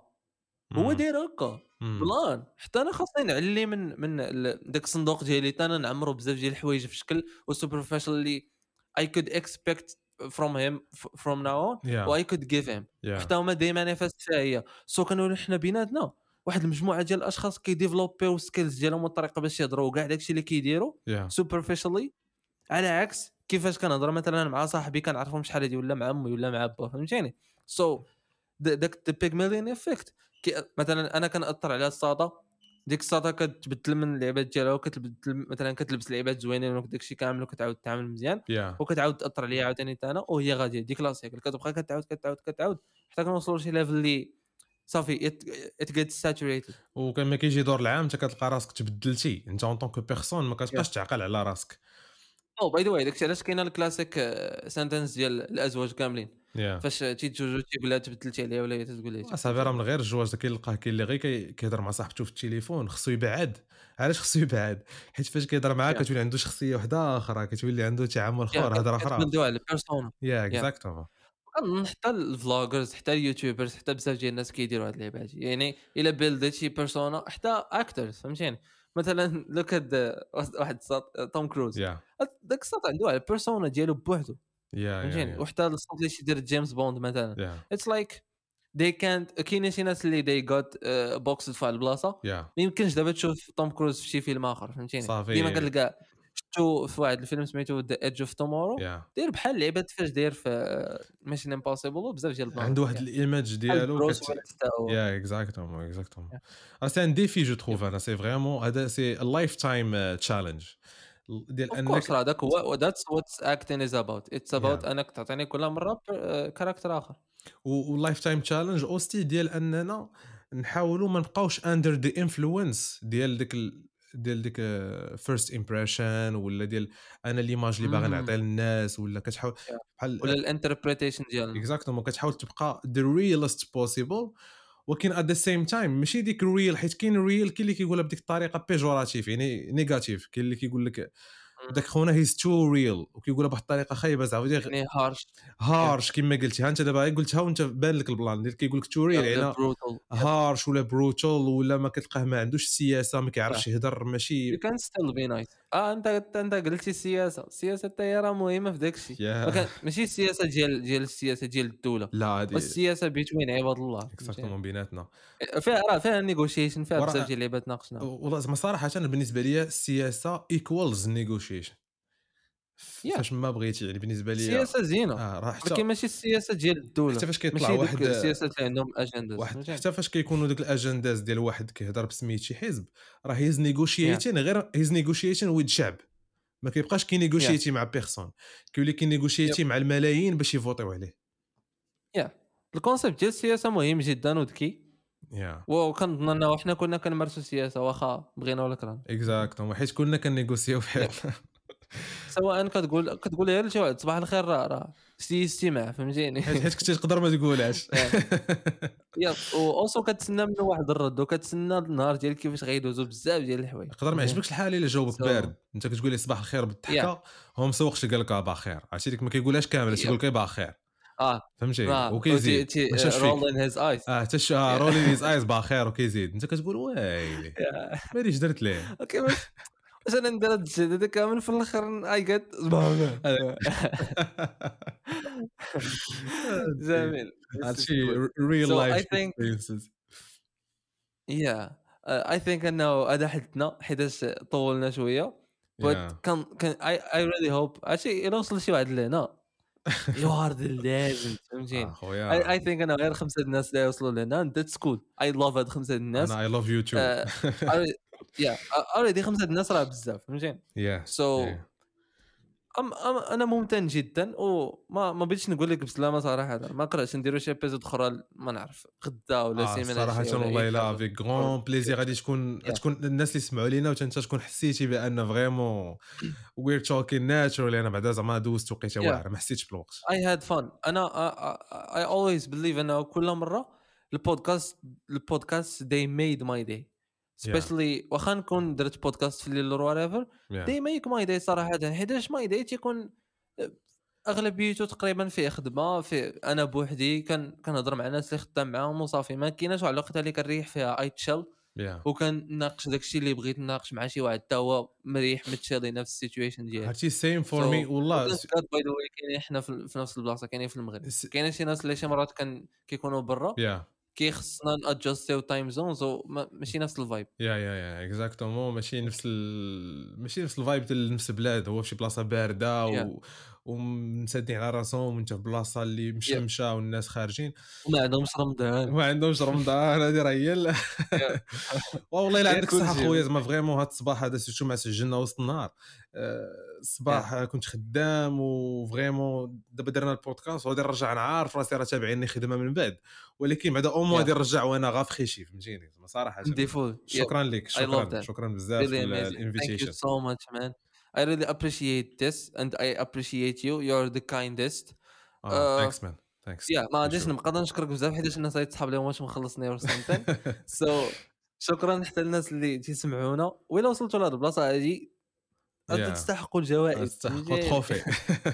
هو داير هكا بلان حتى انا خاصني نعلي من من ال- داك الصندوق ديالي حتى انا نعمرو بزاف ديال الحوايج في شكل وسوبر فاشل اللي I could expect from him f- from now on يا و I could give him يا حتى هما ديما نفس فيها هي سو كانوا حنا بيناتنا واحد المجموعه ديال الاشخاص كيديفلوبيو سكيلز ديالهم والطريقه باش يهضروا وكاع داكشي اللي كيديروا يا سوبرفيشالي على عكس كيفاش كنهضر مثلا مع صاحبي كنعرفهم شحال هادي ولا مع امي ولا مع با فهمتيني سو داك البيغميليون افكت مثلا انا كنأثر على الساطا ديك الساطا كتبدل من اللعبات ديالها وكتبدل مثلا كتلبس لعبات زوينين وداك الشيء كامل وكتعاود تعامل مزيان يا وكتعاود تاثر عليا عاوتاني حتى انا وهي غاديه ديك لاسيكل كتبقى كتعاود كتعاود كتعاود حتى كنوصلوا لشي ليفل اللي صافي ات جيت ساتوريتد وكان ما كيجي دور العام انت كتلقى راسك تبدلتي انت اون طونك بيرسون ما كتبقاش تعقل على راسك او باي ذا واي داكشي علاش كاينه الكلاسيك سنتنس ديال الازواج كاملين يا فاش تيتزوجوا تيقول لها تبدلتي عليها ولا هي تقول لها صافي راه من غير الجواز كيلقاه كاين اللي غير كي- كيهضر مع صاحبته في التليفون خصو يبعد علاش خصو يبعد حيت فاش كيهضر معاك كتولي عنده شخصيه واحده اخرى كتولي عنده تعامل اخر هضره اخرى كتبلدوا على البيرسونا يا يا اكزاكتومون كنظن حتى الفلوجرز حتى اليوتيوبرز حتى بزاف ديال الناس كيديروا هاد اللعبه هادي يعني الا بيلدت شي بيرسونا حتى اكترز فهمتيني مثلا لو كاد واحد الصوت توم كروز يا داك الصوت عنده على البيرسونا ديالو بوحدو يا يا فهمتيني يا وحتى الصوت اللي يدير جيمس بوند مثلا يا اتس لايك they can't كاين شي ناس اللي they got بوكس في البلاصه يا ما يمكنش دابا تشوف توم كروز في شي فيلم اخر فهمتيني صافي ديما كنلقى شفتو في واحد الفيلم سميتو ذا ايدج اوف تومورو يا داير بحال لعبه فاش داير في ميشن امبوسيبل وبزاف ديال البلان عنده واحد الايماج ديالو بروس كت ويلس تا هو. يا اكزاكتومون اكزاكتومون راه سي ان ديفي جو تروف انا سي فريمون هذا سي لايف تايم تشالنج ديال اوف كورس انك هذاك هو ذاتس واتس اكتين از اباوت اتس اباوت Yeah. انك تعطيني كل مره كاركتر اخر واللايف تايم تشالنج اوستي ديال اننا نحاولوا ما نبقاوش اندر ذا انفلونس ديال ديك ال... ديال ديك فيرست امبريشن ولا ديال انا ليماج اللي باغي نعطي للناس ولا كتحاول ولا بحال الانتربريتيشن ديالنا اكزاكتومون كتحاول تبقى the realest possible ولكن at the same time ماشي ديك ريل حيت كاين ريل كاين اللي كيقولها بديك الطريقه بيجوراتيف يعني نيجاتيف كاين اللي كيقول لك داك خونا هيز تو ريل وكيقولها بواحد الطريقه خايبه زعما يعني هارش هارش كما قلتي ها انت دابا قلتها وانت بان لك البلان ديال كيقول لك تو ريل يعني هارش ولا بروتال ولا ما كتلقاه ما عندوش السياسه ما كيعرفش يهضر ماشي you can still be nice اه انت انت قلتي السياسه السياسه حتى هي راه مهمه في داك الشيء يا. ما كان ماشي السياسه ديال ديال السياسه ديال الدوله لا هذه والسياسه بيتوين عباد الله اكزاكتومون بيناتنا فيها راه فيها نيغوشيشن فيها ورا- بزاف ديال اللعبات ناقشنا والله زعما صراحه انا بالنسبه لي السياسه ايكوالز نيغوشيشن Yeah. فاش ما بغيتي يعني بالنسبه لي السياسه زينه اه راه ولكن حتى ماشي السياسه ديال الدوله حتى فاش كيطلع ماشي واحد دوك السياسات اللي عندهم اجنداز واحد حتى فاش كيكونوا دوك الاجنداز ديال واحد كيهضر بسميت شي حزب راه هيز نيغوشيتين غير هيز نيغوشيتين ويد شعب ما كيبقاش كينيغوشيتي مع بيرسون كيولي كينيغوشيتي مع الملايين باش يفوتيو عليه يا الكونسيبت ديال السياسه مهم جدا وذكي يا وكنظن انه حنا كنا كنمارسوا السياسه واخا بغينا ولا كرهنا اكزاكتوم حيت كنا كنيغوسيو في حياتنا سواء كتقول كتقول غير لشي واحد صباح الخير راه راه سي استماع فهمتيني حيت كنتي تقدر ما تقولهاش يا واوسو كتسنى منه واحد الرد وكتسنى النهار ديال كيفاش غيدوزو بزاف ديال الحوايج يقدر ما يعجبكش الحال الا جاوبك So- بارد انت كتقول لي صباح الخير بالضحكه هو مسوقش قال لك بخير عرفتي ديك ما كيقولهاش كامل Yeah. تيقول لك بخير اه فهمتي آه. وكيزيد ما شاش فيك رول ان هيز ايز اه تش رولي هيز ايز بخير وكيزيد انت كتقول ويلي ماليش درت ليه اوكي واش واش انا ندير هاد الشيء هذا كامل في الاخر اي جيت جميل هادشي ريل So I لايف think- experiences يا اي ثينك انه هذا حدنا حيتاش طولنا شويه Yeah. but كان كان اي اي ريلي هوب عرفتي الا وصل شي واحد لهنا يو ار ذا ليجند فهمتيني اخويا اي ثينك انا غير خمسه الناس اللي وصلوا لهنا ذاتس كول اي لاف هاد خمسه الناس انا اي لاف يو تو يا اوريدي خمسه الناس راه بزاف فهمتيني يا سو أم أم انا ممتن جدا وما ما بغيتش نقول لك بسلامه صراحه ما قرأتش نديروا شي ابيزود اخرى ما نعرف غدا ولا سيمانه صراحه والله الا افيك غون بليزير غادي تكون تكون الناس اللي سمعوا لينا وانت تكون حسيتي بان فريمون وير توكين ناتشورال انا بعدا زعما دوزت وقيته واعر ما حسيتش بالوقت اي هاد فان انا اي اولويز بليف انه كل مره البودكاست البودكاست they made my day especially واخا نكون درت بودكاست في الليل اور whatever they make my day صراحه حيتاش my day تيكون اغلبيته تقريبا فيه خدمه في انا بوحدي كان كنهضر مع ناس اللي خدام معاهم وصافي ما كايناش واحد الوقت اللي كنريح فيها اي تشيل وكنناقش داكشي اللي بغيت نناقش مع شي واحد حتى هو مريح متشالي نفس السيتويشن ديالو هادشي سيم فور مي والله باي ذا واي كاينين حنا في نفس البلاصه كاينين في المغرب كاينين شي ناس اللي شي مرات كان كيكونوا برا كيخصنا نادجستيو تايم زونز ماشي نفس الفايب يا يا يا اكزاكتومون ماشي نفس ال... ماشي نفس الفايب ديال نفس البلاد هو في شي بلاصه بارده و... ومسدين على راسهم وانت في بلاصه اللي مشمشه yeah. والناس خارجين وما عندهمش رمضان ما عندهمش رمضان هذه راه هي والله الا عندك صح خويا زعما فريمون هذا الصباح هذا سيرتو ما سجلنا وسط النهار الصباح yeah. كنت خدام وفريمون دابا درنا البودكاست وغادي نرجع نعرف راسي راه تابعيني خدمه من بعد ولكن بعدا او مو غادي نرجع وانا غافخي شي فهمتيني زعما صراحه شكرا لك شكرا شكرا بزاف Thank للانفيتيشن you so much man I really appreciate this and I appreciate you you're the kindest uh, uh, thanks man thanks yeah ما غاديش نبقى نشكرك بزاف حيت الناس غيتصحاب لهم واش مخلصني ولا سنتين so شكرا حتى الناس اللي تيسمعونا وإلا وصلتوا لهاد البلاصه هادي تستحقوا الجوائز تستحقوا التروفي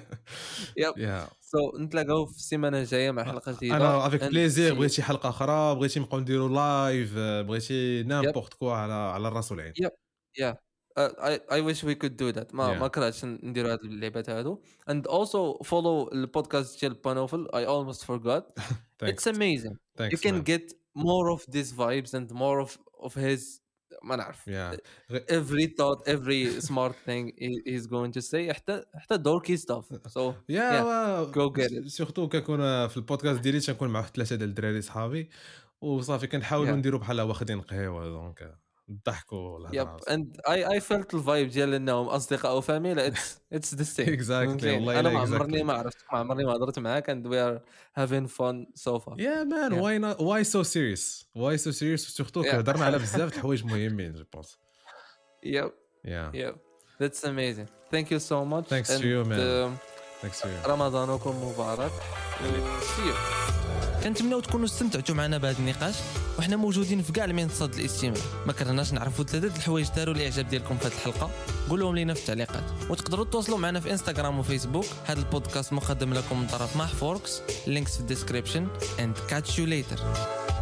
يب سو نتلاقاو في السيمانه الجايه مع حلقه جديده انا افيك بليزير بغيتي حلقه اخرى بغيتي نبقاو نديروا لايف بغيتي نامبورت كوا على على الراس والعين يب يا I I wish we could do that ما yeah. ما كرهتش نديروا هاد اللعبات هادو and also follow البودكاست ديال بانوفل I almost forgot it's amazing Thanks, you can man. get more of these vibes and more of of his ما نعرف yeah. every thought every smart thing he, he's going to say حتى حتى dorky stuff so yeah, yeah. go get it سورتو كنكون في البودكاست ديالي تنكون مع ثلاثه ديال الدراري صحابي وصافي كنحاولوا yeah. نديروا بحال واخدين قهوه دونك الضحك والهضره يب and I I felt الفايب ديال انهم اصدقاء وفاميليا it's it's the same exactly والله انا ما عمرني ما عرفت ما عمرني ما هضرت معاك and we are having fun so far yeah man yeah. why not why so serious why so serious سورتو هضرنا على بزاف د الحوايج مهمين جو بونس yep yeah yep that's amazing thank you so much thanks and to you man uh, thanks to you رمضانكم مبارك see you كنتمناو تكونوا استمتعتوا معنا بهذا النقاش وحنا موجودين في كاع المنصات الاستماع ما كرهناش نعرفوا ثلاثه الحوايج داروا الاعجاب ديالكم في هذه الحلقه قولوهم لينا في التعليقات وتقدروا تواصلوا معنا في انستغرام وفيسبوك هذا البودكاست مقدم لكم من طرف محفوركس links في الديسكريبشن and catch you later